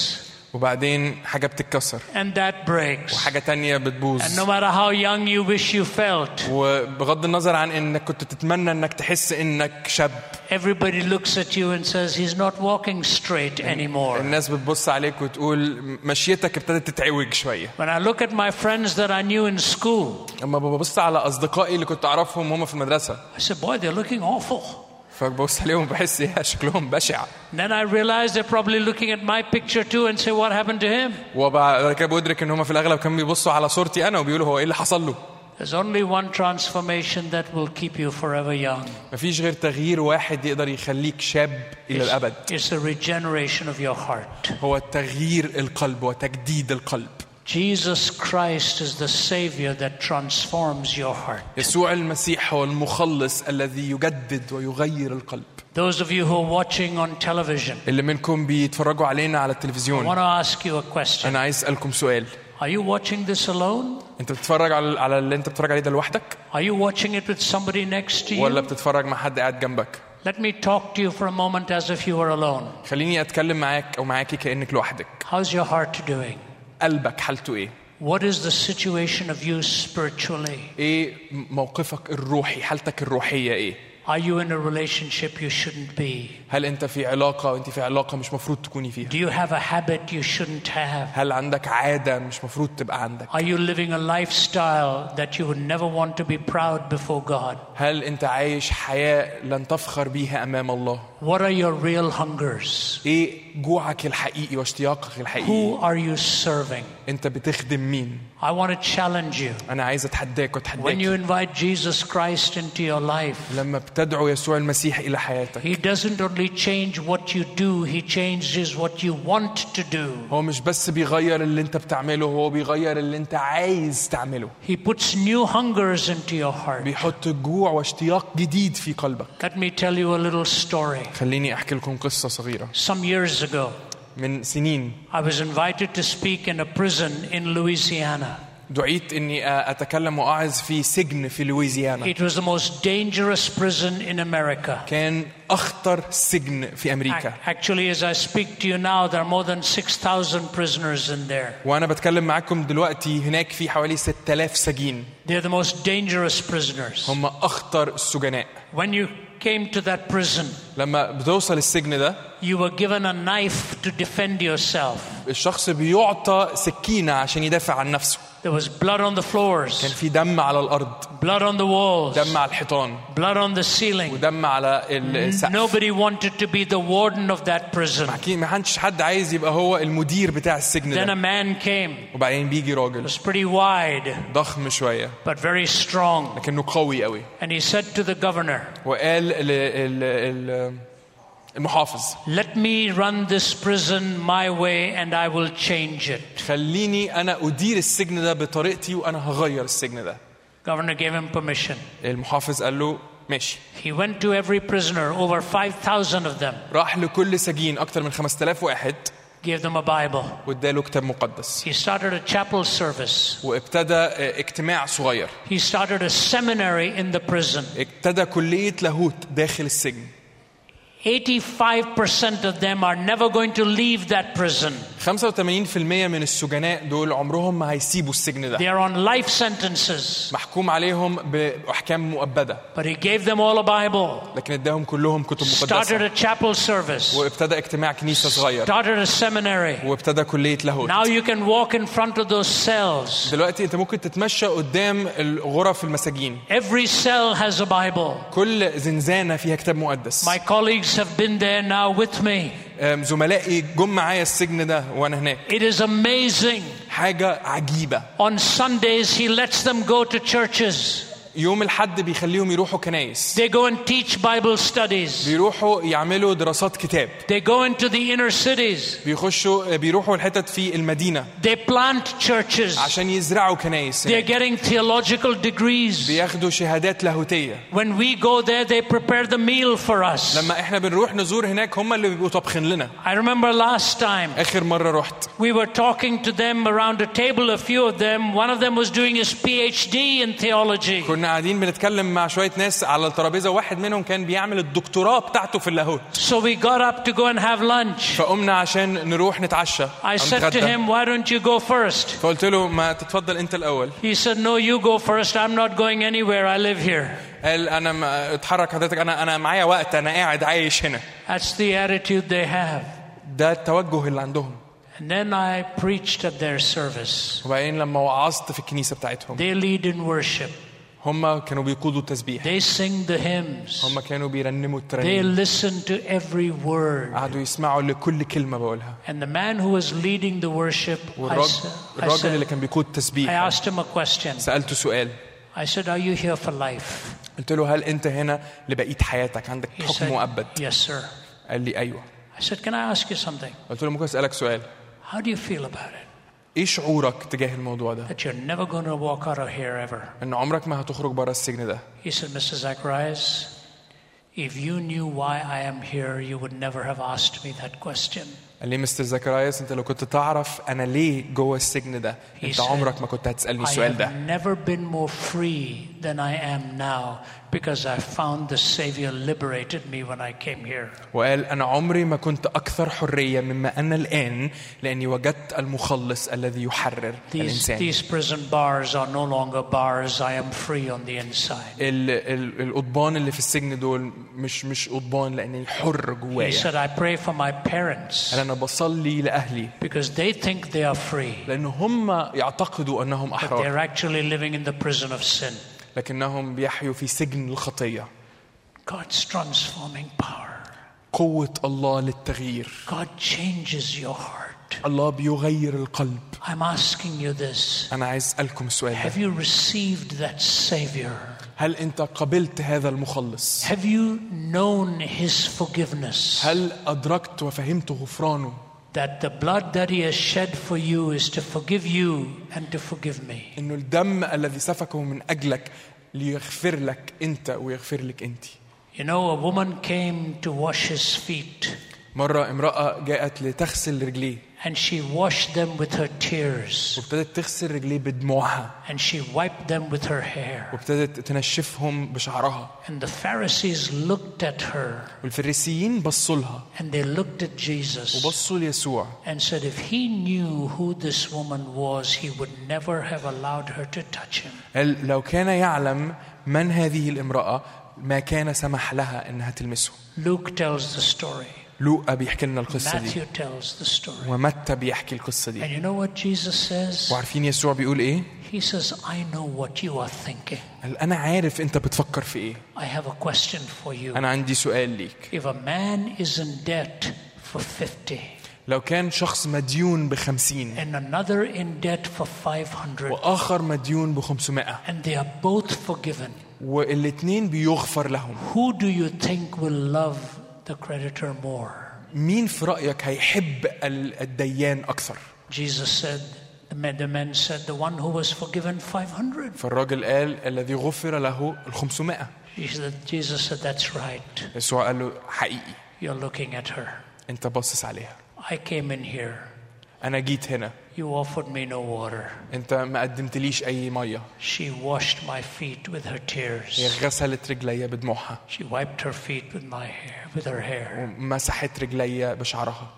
وبعدين حاجة بتتكسر and that breaks. وحاجة تانية بتبوظ. And no matter how young you wish you felt, وبغض النظر عن انك كنت تتمنى انك تحس انك شاب, everybody looks at you and says he's not walking straight anymore. الناس بتبص عليك وتقول مشيتك ابتدت تتعوج شوية. When I look at my friends that I knew in school, اما ببص على اصدقائي اللي كنت اعرفهم وهم في المدرسة, I said, boy, they're looking awful. فببص عليهم بحس ايه شكلهم بشع. Then I realized they're probably looking at my picture too and say, what happened to him? وبعد كده بدرك ان هم في الاغلب كانوا بيبصوا على صورتي انا وبيقولوا هو ايه اللي حصل له. There's only one transformation that will keep you forever young. مفيش غير تغيير واحد يقدر يخليك شاب الى الابد. It's the regeneration of your heart. هو تغيير القلب وتجديد القلب. Jesus Christ is the Savior that transforms your heart. يسوع المسيح هو المخلص الذي يجدد ويغير القلب. Those of you who are watching on television, اللي منكم بيتفرجوا علينا على I التلفزيون, want to ask you a question. أنا عايز أسألكم سؤال. Are you watching this alone? أنت بتتفرج على على اللي أنت بتتفرج عليه ده لوحدك؟ Are you watching it with somebody next to ولا you? بتتفرج مع حد قاعد جنبك؟ Let me talk to you for a moment as if you were alone. خليني أتكلم معاك أو معاكي كأنك لوحدك. How's your heart doing? قلبك حالته إيه؟ What is the situation of you spiritually? إيه موقفك الروحي؟ حالتك الروحية إيه؟ Are you in a relationship you shouldn't be? هل أنت في علاقة وأنت في علاقة مش مفروض تكوني فيها؟ Do you have a habit you shouldn't have? هل عندك عادة مش مفروض تبقى عندك؟ Are you living a lifestyle that you would never want to be proud before God? هل أنت عايش حياة لن تفخر بيها أمام الله؟ What are your real hungers? إيه جوعك الحقيقي واشتياقك الحقيقي؟ Who are you serving? أنت بتخدم مين؟ I want to challenge you. أنا عايز أتحداك When وأتحداك. you invite Jesus Christ into your life, لما بتدعو يسوع المسيح إلى حياتك, He doesn't only change what you do, He changes what you want to do. هو مش بس بيغير اللي أنت بتعمله, هو بيغير اللي أنت عايز تعمله. He puts new hungers into your heart. بيحط جوع واشتياق جديد في قلبك. Let me tell you a little story. خليني أحكي لكم قصة صغيرة. Some years ago, من سنين I was invited to speak in a prison in Louisiana. دعيت إني أتكلم وأعظ في سجن في لويزيانا. It was the most dangerous prison in America. كان أخطر سجن في أمريكا. Actually, as I speak to you now, there are more than six thousand prisoners in there. وأنا بتكلم معكم دلوقتي هناك في حوالي ستة آلاف سجين. They're the most dangerous prisoners. هم أخطر السجناء. When you came to that prison, لما بتوصل السجن ده, you were given a knife to defend yourself. الشخص بيعطى سكينة عشان يدافع عن نفسه. There was blood on the floors. كان في دم على الأرض. Blood on the walls. دم على الحيطان. Blood on the ceiling. ودم على السقف. Nobody wanted to be the warden of that prison. ما كانش حد عايز يبقى هو المدير بتاع السجن Then ده. a man came. وبعدين بيجي He راجل was pretty wide, ضخم شوية, but very strong. لكنه قوي قوي. And he said to the governor, وقال ل- ل- ل- المحافظ, let me run this prison my way and I will change it. خليني أنا أدير السجن ده بطريقتي وأنا هغير السجن ده. Governor gave him permission. المحافظ قال له ماشي. He went to every prisoner, over five thousand of them, راح لكل سجين أكتر من خمسة آلاف واحد, gave them a Bible. واداله كتاب مقدس. He started a chapel service. وابتدى اجتماع صغير. He started a seminary in the prison. ابتدى كلية لاهوت داخل السجن. eighty-five percent of them are never going to leave that prison. خمسة وثمانين بالمئة من السجناء دول عمرهم ما هيسيبوا السجن ده. They are on life sentences. محكوم عليهم بأحكام مؤبدة. But he gave them all a Bible. لكن اداهم كلهم كتب Started مقدسة. a chapel service. وابتدى اجتماع كنيسة صغير. Started a seminary. وابتدى كلية لاهوت. Now you can walk in front of those cells. دلوقتي انت ممكن تتمشى قدام الغرف المساجين. Every cell has a Bible. كل زنزانة فيها كتاب مقدس. My colleagues have been there now with me. زملائي جم معايا السجن ده وانا هناك. It is amazing. حاجة عجيبة. On Sundays he lets them go to churches. يوم الحد بيخليهم يروحوا كنايس. They go and teach Bible studies. بيروحوا يعملوا دراسات كتاب. They go into the inner cities. بيخشوا بيروحوا الحتت في المدينة. They plant churches. عشان يزرعوا كنايس. They're getting theological degrees. بياخدوا شهادات لاهوتية. When we go there, they prepare the meal for us. لما احنا بنروح نزور هناك هم اللي بيبقوا طابخين لنا. I remember last time. آخر مرة رحت. We were talking to them around a table. A few of them. One of them was doing his P H D in theology. كنا كنا قاعدين بنتكلم مع شوية ناس على الترابيزة، واحد منهم كان بيعمل الدكتوراه بتاعته في اللاهوت. So we got up to go and have lunch. فقمنا عشان نروح نتعشى. I said to him, why don't you go first? فقلت له ما تتفضل أنت الأول. He said, no, you go first. I'm not going anywhere. I live here. قال أنا ما اتحرك حضرتك، أنا أنا معايا وقت، أنا قاعد عايش هنا. That's the attitude they have. ده التوجه اللي عندهم. And then I preached at their service. وبعدين لما وعظت في الكنيسة بتاعتهم. They lead in worship. هم كانوا بيقودوا التسبيح. They sing the hymns. هم كانوا بيرنموا They الترانيم. listen to every word. قعدوا يسمعوا لكل كلمة بقولها. And the man who was leading the worship, I, والراجل I, الراجل اللي said, كان بيقود I التسبيح. asked him a question. سألته سؤال. I said, are you here for life? قلت له هل أنت هنا لبقية حياتك، عندك He حكم said, مؤبد؟ yes, sir. قال لي أيوة. I said, can I ask you something? قلت له ممكن أسألك سؤال؟ How do you feel about it? إيه شعورك تجاه الموضوع ده؟ That you're never going to walk out of here ever. إن عمرك ما هتخرج برا السجن ده. He said, Mister Zacharias, if you knew why I am here, you would never have asked me that question. قال لي مستر زكراياس أنت لو كنت تعرف أنا ليه جوه السجن ده، أنت عمرك ما كنت هتسألني السؤال ده. I have never been more free than I am now because I found the Savior liberated me when I came here. وقال أنا عمري ما كنت أكثر حرية مما أنا الآن لأني وجدت المخلص الذي يحرر الإنسان. These prison bars are no longer bars. I am free on the inside. ال ال القضبان اللي في السجن دول مش مش قضبان لأني حر جوايا. He said, I pray for my parents. أنا بصلي لأهلي. Because they think they are free. لأن هم يعتقدوا أنهم But أحرار. they're actually living in the prison of sin. لكنهم بيحيوا في سجن الخطية. God's transforming power. قوة الله للتغيير. God changes your heart. الله بيغير القلب. I'm asking you this. أنا عايز أسألكم السؤال ده. Have you received that Savior? هل أنت قبلت هذا المخلص؟ Have you known His forgiveness? هل أدركت وفهمت غفرانه؟ That the blood that He has shed for you is to forgive you and to forgive me. إنه الدم الذي سفكه من أجلك ليغفر لك أنت ويغفر لك أنت. You know, a woman came to wash His feet. مرة امرأة جاءت لتغسل رجليه. And she washed them with her tears. وابتدت تغسل رجليه بدموعها. And she wiped them with her hair. وابتدت تنشفهم بشعرها. And the Pharisees looked at her. والفريسيين بصوا لها. And they looked at Jesus. وبصوا ليسوع. And said, if he knew who this woman was, he would never have allowed her to touch him. قال لو كان يعلم من هذه الامرأة ما كان سمح لها إنها تلمسه. Luke tells the story. لوقا بيحكي لنا القصة دي. Matthew tells the story. ومتى بيحكي القصة دي. And you know what Jesus says? وعارفين يسوع بيقول إيه؟ He says, I know what you are thinking. قال أنا عارف أنت بتفكر في إيه. I have a question for you. أنا عندي سؤال ليك. If a man is in debt for fifty. لو كان شخص مديون بخمسين. And another in debt for five hundred. وآخر مديون بخمسمائة. And they are both forgiven. والاثنين بيغفر لهم. Who do you think will love the creditor more? مين في رأيك هيحب الديان أكثر؟ Jesus said, the man said, the one who was forgiven five hundred. فالراجل قال الذي غفر له الخمسمائة. Jesus said, that's right. يسوع قال له حقيقي. You're looking at her. أنت باصص عليها. I came in here. أنا جيت هنا. You offered me no water. أنت ما قدمتليش أي مية. She washed my feet with her tears. هي غسلت رجلي بدموعها. She wiped her feet with my hair, with her hair. ومسحت رجلي بشعرها.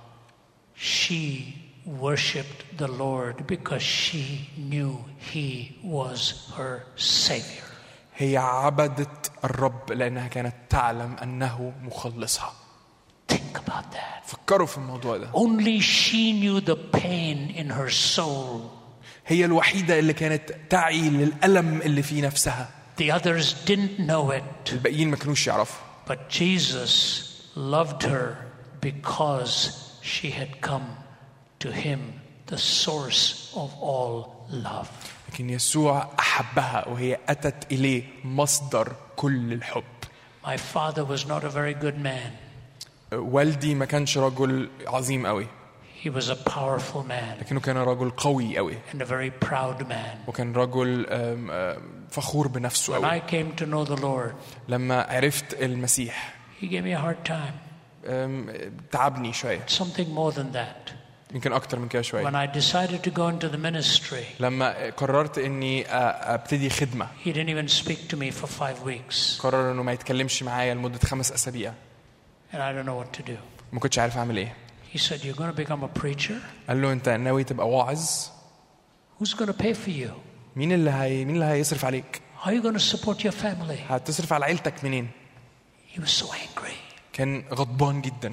She worshipped the Lord because she knew He was her Savior. هي عبدت الرب لأنها كانت تعلم أنه مخلصها. Think about that. فكروا في الموضوع ده. Only she knew the pain in her soul. هي الوحيدة اللي كانت تعي للألم اللي في نفسها. The others didn't know it. الباقيين ما كانوش يعرفوا. But Jesus loved her because she had come to Him, the source of all love. لكن يسوع أحبها وهي أتت إليه مصدر كل الحب. My father was not a very good man. والدي ما كانش رجل عظيم قوي. He was a powerful man. لكنه كان رجل قوي قوي. And a very proud man. وكان رجل فخور بنفسه قوي. When I came to know the Lord, لما عرفت المسيح He gave me a hard time. تعبني شوية. Something more than that. يمكن اكتر من كده شويه. When I decided to go into the ministry, لما قررت اني ابتدي خدمه he didn't even speak to me for five weeks. قرر انه ما يتكلمش معايا لمده خمس اسابيع. And I don't know what to do. ما كنتش عارف اعمل ايه. He said, "You're going to become a preacher? قال له انت ناوي تبقى واعظ؟ Who's going to pay for you? مين اللي هي مين اللي هيصرف عليك؟ How are you going to support your family?" هتصرف على عيلتك منين؟ He was so angry. كان غضبان جدا.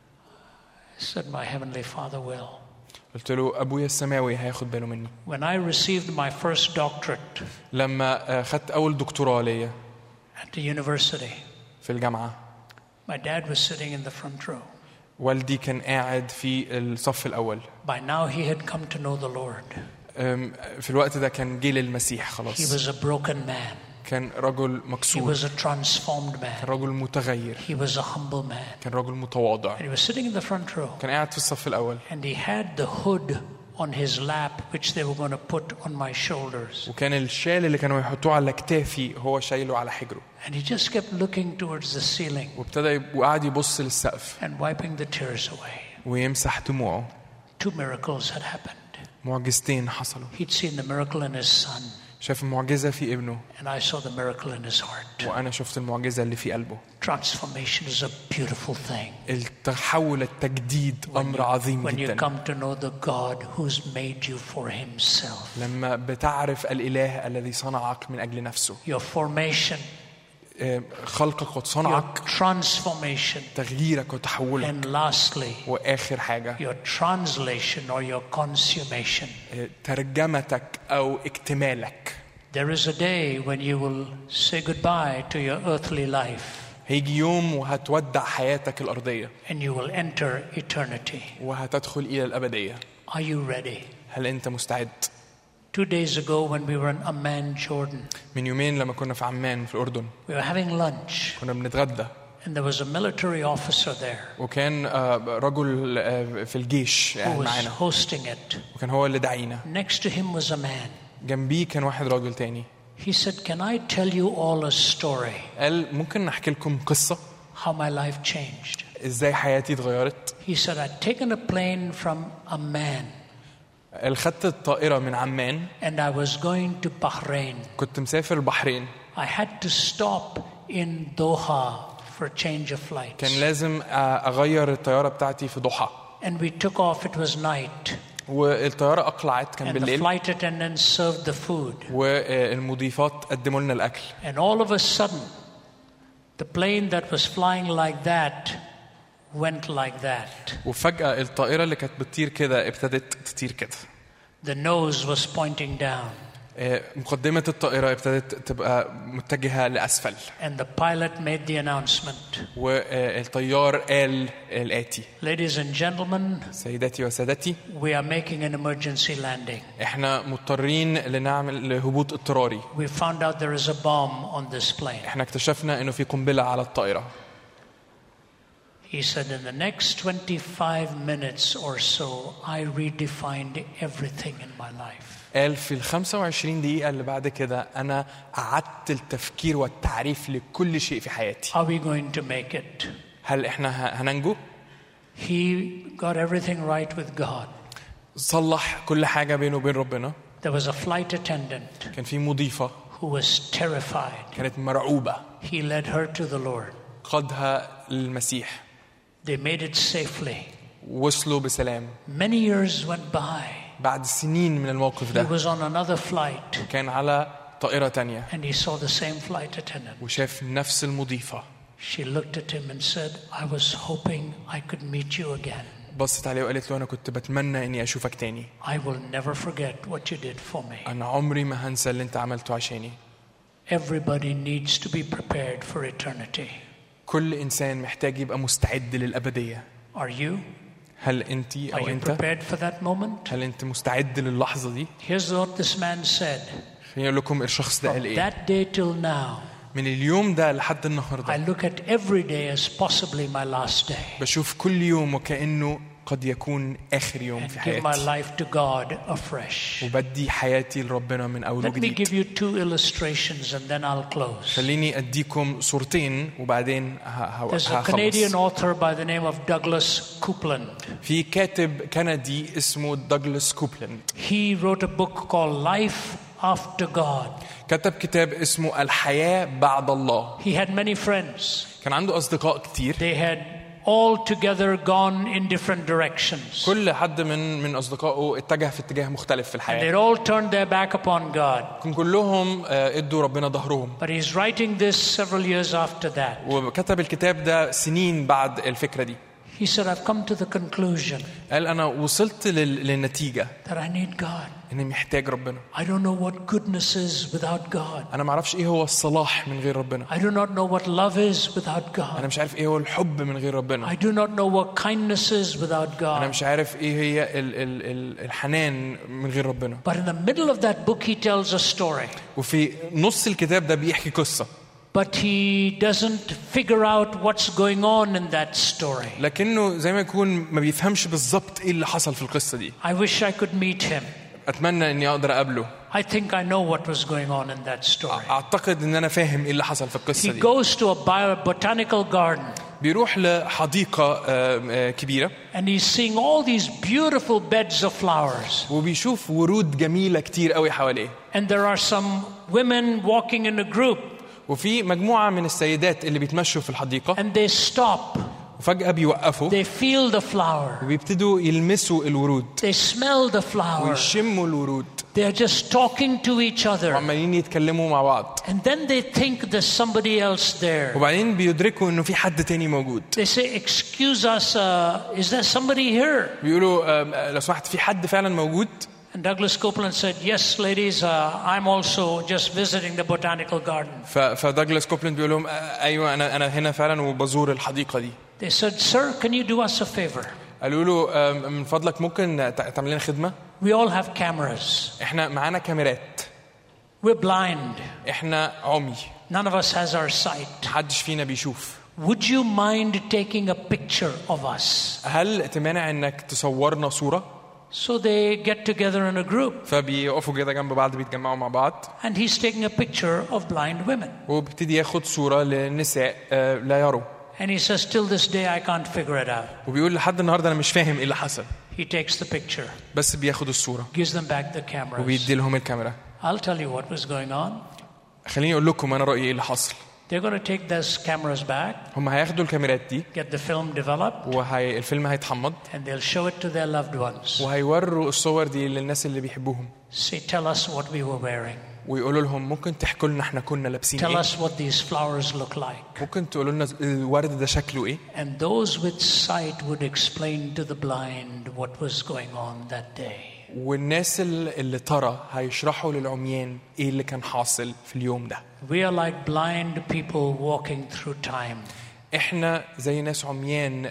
I said, "My heavenly Father will." قلت له ابويا السماوي هياخد باله مني. When I received my first doctorate لما خدت اول دكتوراه ليا at the university, في الجامعه my dad was sitting in the front row. والدي كان قاعد في الصف الاول. By now he had come to know the Lord. في الوقت ده كان جيل المسيح He خلاص. was a broken man. كان رجل He مكسور. was a transformed كان man. رجل متغير. He was a humble man. كان رجل متواضع. And he was sitting in the front row. كان قاعد في الصف الأول. And he had the hood on his lap which they were going to put on my shoulders. وكان الشال اللي كانوا يحطوه على كتافي هو شايله على حجره. And he just kept looking towards the ceiling. وابتدى وقعد يبص للسقف. And wiping the tears away. ويمسح دموعه. Two miracles had happened. معجزتين حصلوا. He'd seen the miracle in his son. شاف المعجزة في ابنه. And I saw the miracle in his heart. وأنا شفت المعجزة اللي في قلبه. Transformation is a beautiful thing. التحول التجديد أمر عظيم When you جدا. come to know the God who's made you for himself. لما بتعرف الإله الذي صنعك من أجل نفسه. Your formation. خلقك وصنعك. Your transformation. تغييرك وتحولك. And lastly. وآخر حاجة. Your translation or your consummation. ترجمتك أو اكتمالك. There is a day when you will say goodbye to your earthly life. هيجي يوم وهتودع حياتك الأرضية. And you will enter eternity. وهتدخل إلى الأبدية. Are you ready? هل أنت مستعد؟ Two days ago when we were in Amman, Jordan. من يومين لما كنا في عمان في الأردن. We were having lunch. كنا بنتغدى. And there was a military officer there. وكان رجل في الجيش who was معنا. hosting it. وكان هو اللي دعينا. Next to him was a man. جنبيه كان واحد راجل تاني. He said, "Can I tell you all a story?" قال ممكن نحكي لكم قصة. How my life changed. إزاي حياتي اتغيرت. He said, "I'd taken a plane from Amman." خدت الطائرة من عمان. And I was going to Bahrain. كنت مسافر البحرين. I had to stop in Doha for change of flights. كان لازم أغير الطيارة بتاعتي في دوحة. And we took off. It was night. والطيارة أقلعت كان And the بالليل. flight attendants served the food. والمضيفات قدموا لنا الأكل. And all of a sudden, the plane that was flying like that went like that. وفجأة الطائرة اللي كانت بتطير كده ابتدت تطير كده. The nose was pointing down. مقدمة الطائرة ابتدت تبقى متجهة لأسفل. And the pilot made the announcement. والطيار قال الآتي. Ladies and gentlemen, سيداتي وسادتي. we are making an emergency landing. احنا مضطرين لنعمل هبوط اضطراري. We found out there is a bomb on this plane. احنا اكتشفنا انه في قنبلة على الطائرة. He said, in the next twenty-five minutes or so, I redefined everything in my life. قال في الخمسة وعشرين دقيقة اللي بعد كده أنا أعدت التفكير والتعريف لكل شيء في حياتي. Are we going to make it? هل إحنا هننجو؟ He got everything right with God. صلح كل حاجة بينه وبين ربنا. There was a flight attendant. كان في مضيفة. Who was terrified. كانت مرعوبة. He led her to the Lord. قادها للمسيح. They made it safely. وصلوا بسلام. Many years went by. بعد سنين من الموقف ده. He was on another flight. كان على طائرة تانية. And he saw the same flight attendant. وشاف نفس المضيفة. She looked at him and said, "I was hoping I could meet you again." بصت عليه وقالت له أنا كنت بتمنى إني أشوفك تاني. I will never forget what you did for me. أنا عمري ما هنسى اللي أنت عملته عشاني. Everybody needs to be prepared for eternity. كل إنسان محتاج يبقى مستعد للأبدية. Are you? هل أنت Are أو you أنت؟ prepared for that moment? هل أنت مستعد للحظة دي؟ Here's what this man said. خليني أقول لكم الشخص ده قال From إيه؟ that day till now, من اليوم ده لحد I النهاردة look at every day as possibly my last day. بشوف كل يوم وكأنه قد يكون آخر يوم and في give my حياتي life to God afresh. وبدي حياتي لربنا من أول Let me وجديد. give you two illustrations and then I'll close. خليني أديكم صورتين وبعدين ه- There's a Canadian هخلص. author by the name of Douglas Coupland. في كاتب كندي اسمه دوغلاس كوبلاند He wrote a book called Life After God. كتب كتاب اسمه الحياة بعد الله. He had many friends. كان عنده أصدقاء كتير. They had all together gone in different directions. كل حد من من أصدقائه اتجه في اتجاه مختلف في And الحياة. they'd all turned their back upon God. كان كلهم آه، ادوا ربنا ظهرهم. But he's writing this several years after that. وكتب الكتاب ده سنين بعد الفكرة دي. He said, I've come to the conclusion قال أنا وصلت لل- للنتيجة that I need God. إني محتاج ربنا. I don't know what goodness is without God. أنا ما أعرفش إيه هو الصلاح من غير ربنا. I do not know what love is without أنا God. مش عارف إيه هو الحب من غير ربنا. I do not know what kindness is without أنا God. مش عارف إيه هي ال ال ال الحنان من غير ربنا. But in the middle of that book, he tells a story. وفي نص الكتاب ده بيحكي قصة. But he doesn't figure out what's going on in that story. لكنه زي ما يكون ما بيفهمش بالظبط إيه اللي حصل في القصة دي. I wish I could meet him. أتمنى إني أقدر أقابله. I think I know what was going on in that story. أعتقد إن أنا فاهم إيه اللي حصل في القصة He دي. goes to a bio- botanical garden بيروح لحديقة آه، آه، كبيرة and he's seeing all these beautiful beds of flowers. وبيشوف ورود جميلة كتير قوي حواليه. And there are some women walking in a group وفي مجموعة من السيدات اللي بيتمشوا في الحديقة and they stop. وفجأة بيوقفوا They feel the flower. وبيبتدوا يلمسوا الورود They smell the flower. ويشموا الورود They are just talking to each other. وعمالين يتكلموا مع بعض. And then they think there's somebody else there. وبعدين بيدركوا إنه في حد تاني موجود. They say, excuse us, uh, is there somebody here? بيقولوا آه، لو سمحت في حد فعلا موجود. And Douglas Coupland said, yes, ladies, uh, I'm also just visiting the botanical garden. ف- فداغلاس كوبلاند بيقول لهم آه، أيوة أنا أنا هنا فعلا وبزور الحديقة دي. They said, sir, can you do us a favor? قالوا له آه، من فضلك ممكن تع- تعمل لنا خدمة؟ We all have cameras. إحنا معانا كاميرات. We're blind. إحنا عمي. None of us has our sight. محدش فينا بيشوف. Would you mind taking a picture of us? هل تمانع إنك تصورنا صورة؟ So they get together in a group فبيقفوا كده جنب بعض بيتجمعوا مع بعض. and he's taking a picture of blind women. وبيبتدي ياخد صورة لنساء آه، لا يروا. And he says, till this day, I can't figure it out. وبيقول لحد النهارده انا مش فاهم ايه اللي حصل. He takes the picture, بس بياخد الصورة gives them back the cameras. وبيدي لهم الكاميرا. I'll tell you what was going on. خليني اقول لكم انا رأيي ايه اللي حصل. They're going to take those cameras back, هم هياخدوا الكاميرات دي get the film developed, وهي الفيلم هيتحمض and they'll show it to their loved ones. وهيوروا الصور دي للناس اللي بيحبوهم. Say, tell us what we were wearing. ويقولوا لهم ممكن تحكوا لنا احنا كنا لابسين Tell ايه. us what these flowers look like. ممكن تقولوا لنا الورد ده شكله ايه. And those with sight would explain to the blind what was going on that day. والناس اللي اللي ترى هيشرحوا للعميان ايه اللي كان حاصل في اليوم ده. We are like blind people walking through time. احنا زي ناس عميان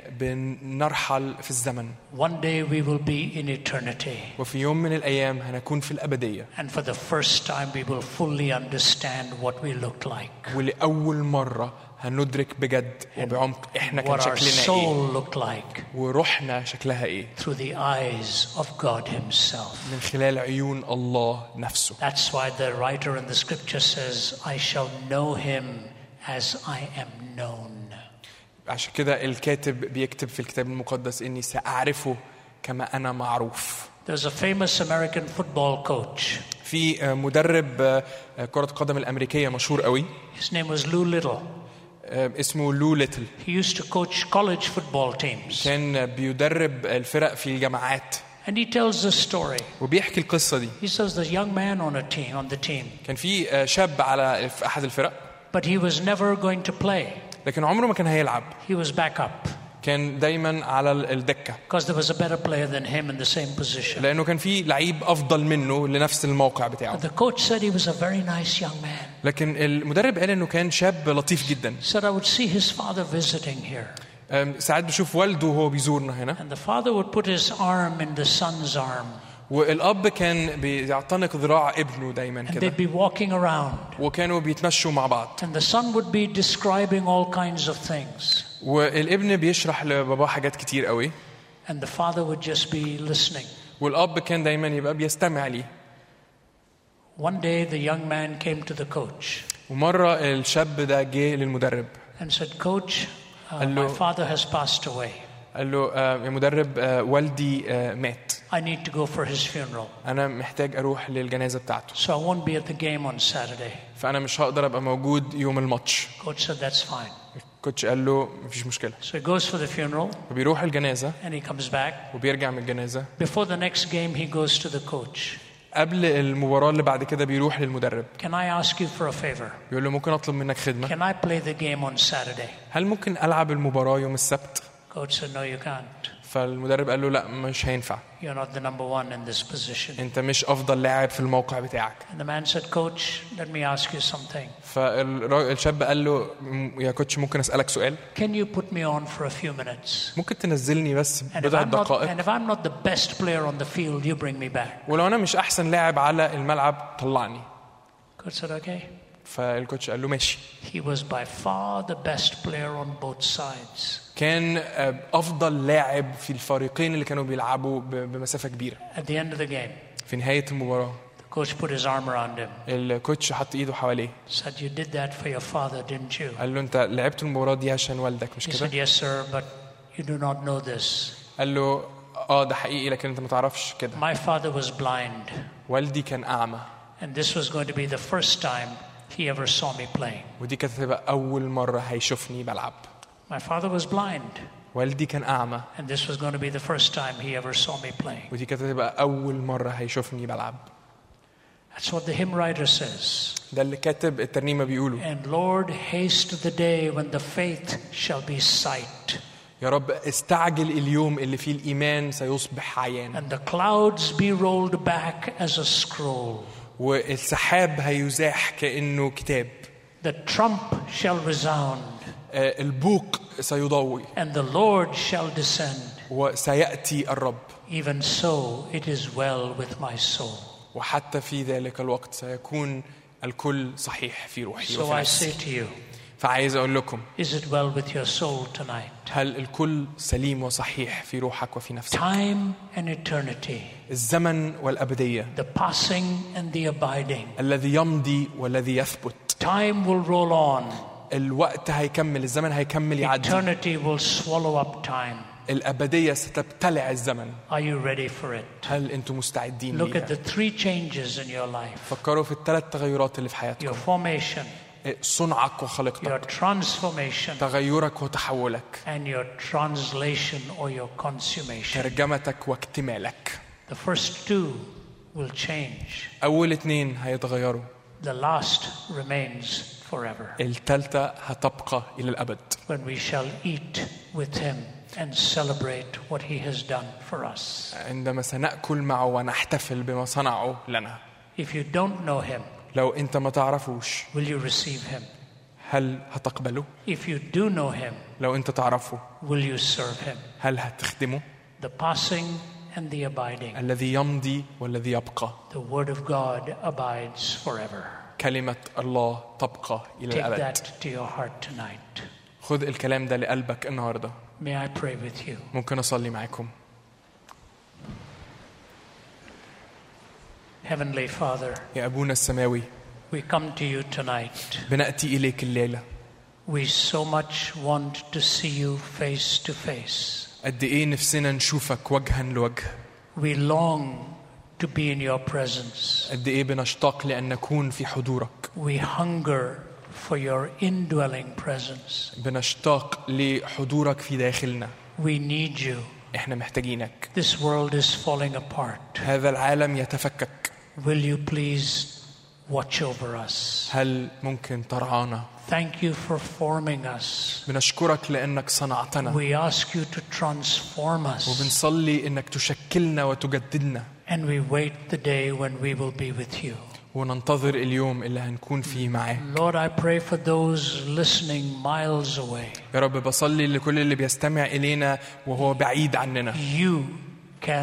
بنرحل في الزمن. One day we will be in eternity. وفي يوم من الأيام هنكون في الأبدية. And for the first time we will fully understand what we looked like. ولأول مرة هندرك بجد وبعمق إحنا كان What our شكلنا إيه. soul looked like وروحنا شكلها إيه. through the eyes of God Himself. من خلال عيون الله نفسه. That's why the writer in the scripture says, I shall know Him as I am known. عشان كده الكاتب بيكتب في الكتاب المقدس إني سأعرفه كما أنا معروف. There's a famous American football coach. في مدرب كرة قدم الأمريكية مشهور قوي. His name was Lou Little. اسمه لو ليتل. He used to coach college football teams. كان بيدرب الفرق في الجامعات. And he tells the story. وبيحكي القصة دي. He says there's a young man on a team on the team. كان في شاب على في أحد الفرق. But he was never going to play. لكن عمره ما كان هيلعب. He was back up. كان دايما على الدكة. Because there was a better player than him in the same position. لأنه كان في لعيب أفضل منه لنفس الموقع بتاعه. But the coach said he was a very nice young man. لكن المدرب قال إنه كان شاب لطيف جدا. Said I would see his father visiting here. ساعات بشوف والده وهو بيزورنا هنا. And the father would put his arm in the son's arm. والأب كان بيعتنق ذراع ابنه دايما And كده. they'd be walking around. وكانوا بيتمشوا مع بعض. And the son would be describing all kinds of things. والابن بيشرح لباباه حاجات كتير قوي. And the father would just be listening. والأب كان دايما يبقى بيستمع لي. One day the young man came to the coach. ومرة الشاب ده جه للمدرب. And said, Coach, uh, my father has passed away. قال له يا مدرب والدي مات. I need to go for his funeral. أنا محتاج أروح للجنازة بتاعته. So I won't be at the game on Saturday. فأنا مش هقدر أبقى موجود يوم الماتش. Coach said that's fine. الكوتش قال له مفيش مشكلة. So he goes for the funeral. وبيروح الجنازة. And he comes back. وبيرجع من الجنازة. Before the next game he goes to the coach. قبل المباراة اللي بعد كده بيروح للمدرب. Can I ask you for a favor? بيقول له ممكن أطلب منك خدمة؟ Can I play the game on Saturday? هل ممكن ألعب المباراة يوم السبت؟ Coach said no, you can't. فالمدرب قال له لا مش هينفع. You're not the number one in this position. أنت مش أفضل لاعب في الموقع بتاعك. And the man said, Coach, let me ask you something. فالشاب قال له يا كوتش ممكن أسألك سؤال؟ Can you put me on for a few minutes? ممكن تنزلني بس And if بضع I'm not, دقائق. and if I'm not the best player on the field, you bring me back. ولو أنا مش أحسن لاعب على الملعب طلعني. Coach said, okay. فالكوتش قال له ماشي. He was by far the best player on both sides. كان أفضل لاعب في الفريقين اللي كانوا بيلعبوا بمسافة كبيرة. At the end of the game, في نهاية المباراة. the coach put his arm around him. الكوتش حط إيده حواليه. Said, you did that for your father, didn't you? قال له أنت لعبت المباراة دي عشان والدك مش He كده؟ said, yes, sir, but you do not know this. قال له آه ده حقيقي لكن أنت ما تعرفش كده. My father was blind. والدي كان أعمى. And this was going to be the first time he ever saw me playing. ودي كانت هتبقى أول مرة هيشوفني بلعب. My father was blind. والدي كان أعمى. And this was going to be the first time he ever saw me playing. ودي كانت هتبقى أول مرة هيشوفني بلعب. That's what the hymn writer says. ده اللي كاتب الترنيمة بيقوله. And Lord, haste the day when the faith shall be sight. يا رب استعجل اليوم اللي فيه الإيمان سيصبح عيان. And the clouds be rolled back as a scroll. والسحاب هيزاح كأنه كتاب. The trump shall resound. البوق سيضوي. And the Lord shall descend. وسيأتي الرب. Even so, it is well with my soul. وحتى في ذلك الوقت سيكون الكل صحيح في روحي So وفي I نفسي. say to you, فعايز أقول لكم is it well with your soul tonight? هل الكل سليم وصحيح في روحك وفي نفسك؟ Time and eternity. الزمن والأبدية. The passing and the abiding. الذي يمضي والذي يثبت. Time will roll on. الوقت هيكمل، الزمن هيكمل يعدي. Eternity will swallow up time. الأبدية ستبتلع الزمن. Are you ready for it? هل أنتم مستعدين Look at ليها؟ the three changes in your life. فكروا في الثلاث تغيرات اللي في Your حياتكم. formation, صنعك your وخلقتك، transformation, تغيرك وتحولك، and your translation or your consummation. ترجمتك واكتمالك. The first two will change. أول اتنين هيتغيروا. The last remains forever. الثالثة هتبقى إلى الأبد. When we shall eat with him and celebrate what he has done for us. عندما سنأكل معه ونحتفل بما صنعه لنا. If you don't know him, لو أنت ما تعرفوش will you receive him? هل هتقبله؟ If you do know him, لو أنت تعرفه will you serve him? هل هتخدمه؟ The passing and the abiding. الذي يمضي والذي يبقى. The word of God abides forever. كلمة الله تبقى إلى Take الأبد. that to your heart tonight. خذ الكلام ده لقلبك النهاردة. May I pray with you? ممكن أصلي معاكم. Heavenly Father, يا أبونا السماوي، we come to you tonight. بنأتي إليك الليلة. We so much want to see you face to face. قد إيه نفسنا نشوفك وجها لوجه. We long to be in your presence. قد إيه بنشتاق لأن نكون في حضورك. We hunger for your indwelling presence. بنشتاق لحضورك في داخلنا. We need you. إحنا محتاجينك. This world is falling apart. هذا العالم يتفكك. Will you please watch over us? هل ممكن ترعانا؟ Thank you for forming us. بنشكرك لأنك صنعتنا. We ask you to transform us. وبنصلي إنك تشكلنا وتجددنا. And we wait the day when we will be with you. وننتظر اليوم اللي هنكون فيه معاك. Lord, I pray for those listening miles away. يا رب بصلي لكل اللي بيستمع إلينا وهو بعيد عننا. You can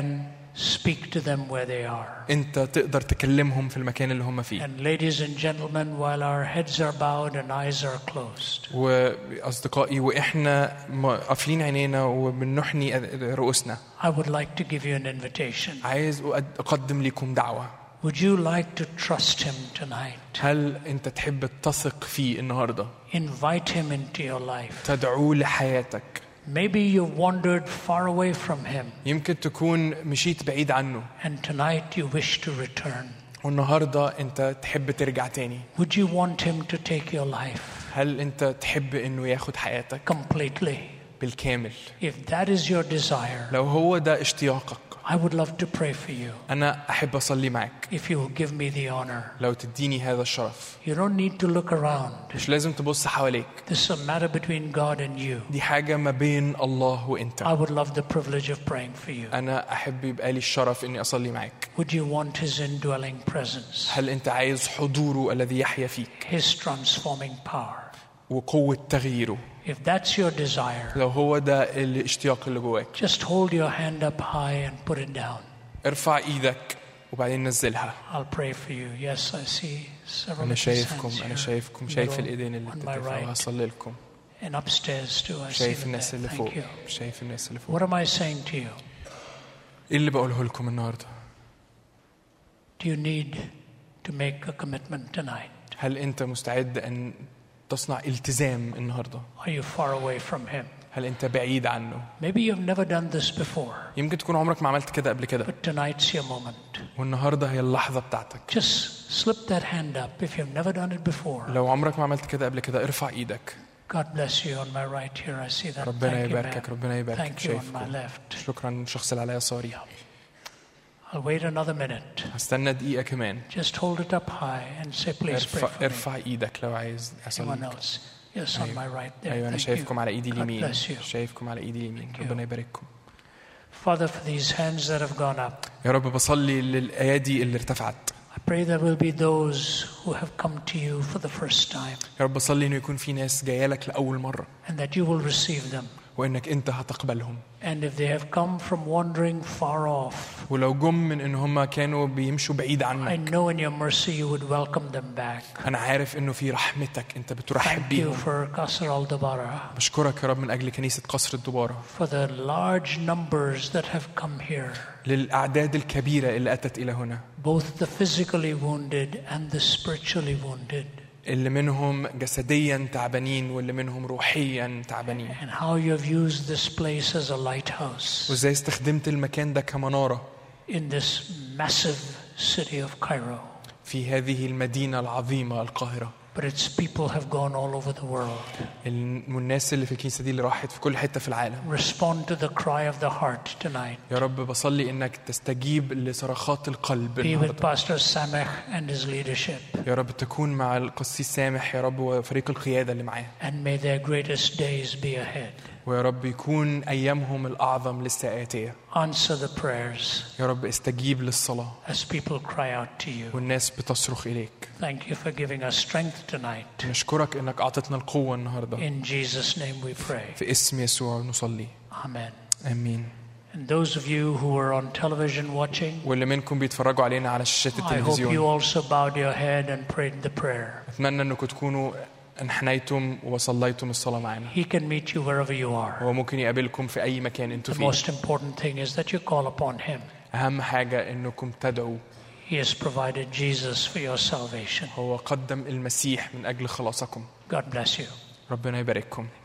speak to them where they are. انت تقدر تكلمهم في المكان اللي هم فيه. And ladies and gentlemen, while our heads are bowed and eyes are closed, واصدقائي واحنا قافلين عينينا وبنحني رؤوسنا, I would like to give you an invitation. عايز اقدم لكم دعوة. Would you like to trust him tonight? هل انت تحب تثق فيه النهارده؟ Invite him into your life. تدعوه لحياتك. Maybe you've wandered far away from him. يمكن تكون مشيت بعيد عنه. And tonight you wish to return. والنهارده انت تحب ترجع تاني. Would you want him to take your life? هل انت تحب انه ياخد حياتك completely? بالكامل؟ If that is your desire, لو هو ده اشتياقك, I would love to pray for you. أنا أحب أصلي معك. If you will give me the honor. لو تديني هذا الشرف. You don't need to look around. مش لازم تبص حواليك. This is a matter between God and you. دي حاجة ما بين الله وأنت. I would love the privilege of praying for you. أنا أحب يبقى لي الشرف إني أصلي معك. Would you want His indwelling presence? هل أنت عايز حضوره الذي يحيا فيك؟ His transforming power. وقوة تغييره. If that's your desire, لو هو ده الاشتياق اللي جواك, just hold your hand up high and put it down. ارفع ايدك وبعدين نزلها. I'll pray for you. Yes, I see several. أنا شايفكم أنا شايفكم شايف الإيدين اللي بترفعوا. هصلي لكم. And upstairs too, I see شايف الناس اللي فوق. you. شايف الناس اللي فوق. What am I saying to you? إيه اللي بقوله لكم النهاردة؟ Do you need to make a commitment tonight? هل أنت مستعد أن تصنع التزام النهاردة؟ Are you far away from him? هل أنت بعيد عنه؟ Maybe you've never done this before. يمكن تكون عمرك ما عملت كده قبل كده. But tonight's your moment. والنهاردة هي اللحظة بتاعتك. Just slip that hand up if you've never done it before. لو عمرك ما عملت كده قبل كده ارفع إيدك. God bless you on my right here. I see that. ربنا يباركك. ربنا يباركك. Thank you on my left. شكرا الشخص اللي على يساري. I'll wait another minute. هستنى دقيقة كمان. Just hold it up high and say please pray for me. ارفع إيدك لو عايز أصلي. Yes, on my right there. أيوة أنا شايفكم على إيدي اليمين. God bless you. شايفكم على إيدي اليمين. ربنا يبارككم. Father, for these hands that have gone up. يا رب بصلي للأيادي اللي ارتفعت. I pray there will be those who have come to you for the first time. يا رب بصلي إنه يكون في ناس جاية لك لأول مرة. And that you will receive them. وإنك أنت هتقبلهم. And if they have come from wandering far off, ولو جم من إن هم كانوا بيمشوا بعيد عنك, I know in your mercy you would welcome them back. أنا عارف إنه في رحمتك أنت بترحب بيهم. Thank you for Qasr al-Dabara. بشكرك يا رب من أجل كنيسة قصر الدبارة. For the large numbers that have come here. للأعداد الكبيرة اللي أتت إلى هنا. Both the physically wounded and the spiritually wounded. اللي منهم جسديا تعبانين واللي منهم روحيا تعبانين. And how you have used this place as a lighthouse. وإزاي استخدمت المكان ده كمنارة. In this massive city of Cairo. في هذه المدينة العظيمة القاهرة. But its people have gone all over the world. الناس اللي في الكنيسة دي اللي راحت في كل حتة في العالم. Respond to the cry of the heart tonight. يا رب بصلي إنك تستجيب لصرخات القلب. Be with Pastor Samech and his leadership. يا رب تكون مع القسيس سامح يا رب وفريق القيادة اللي معاه. And may their greatest days be ahead. ويا رب يكون أيامهم الأعظم لسه آتية. Answer the prayers. يا رب استجيب للصلاة. As people cry out to you. والناس بتصرخ إليك. Thank you for giving us strength tonight. نشكرك إنك أعطتنا القوة النهاردة. In Jesus' name we pray. في اسم يسوع نصلي. Amen. آمين. And those of you who are on television watching, واللي منكم بيتفرجوا علينا على شاشات I hope you التلفزيون. also bowed your head and prayed the prayer. أتمنى إنكم تكونوا انحنيتم وصليتم الصلاة معنا. He can meet you wherever you are. هو ممكن يقابلكم في أي مكان أنتوا The فيه. most important thing is that you call upon Him. أهم حاجة إنكم تدعوا. He has provided Jesus for your salvation. هو قدم المسيح من أجل خلاصكم. God bless you. ربنا يبارككم.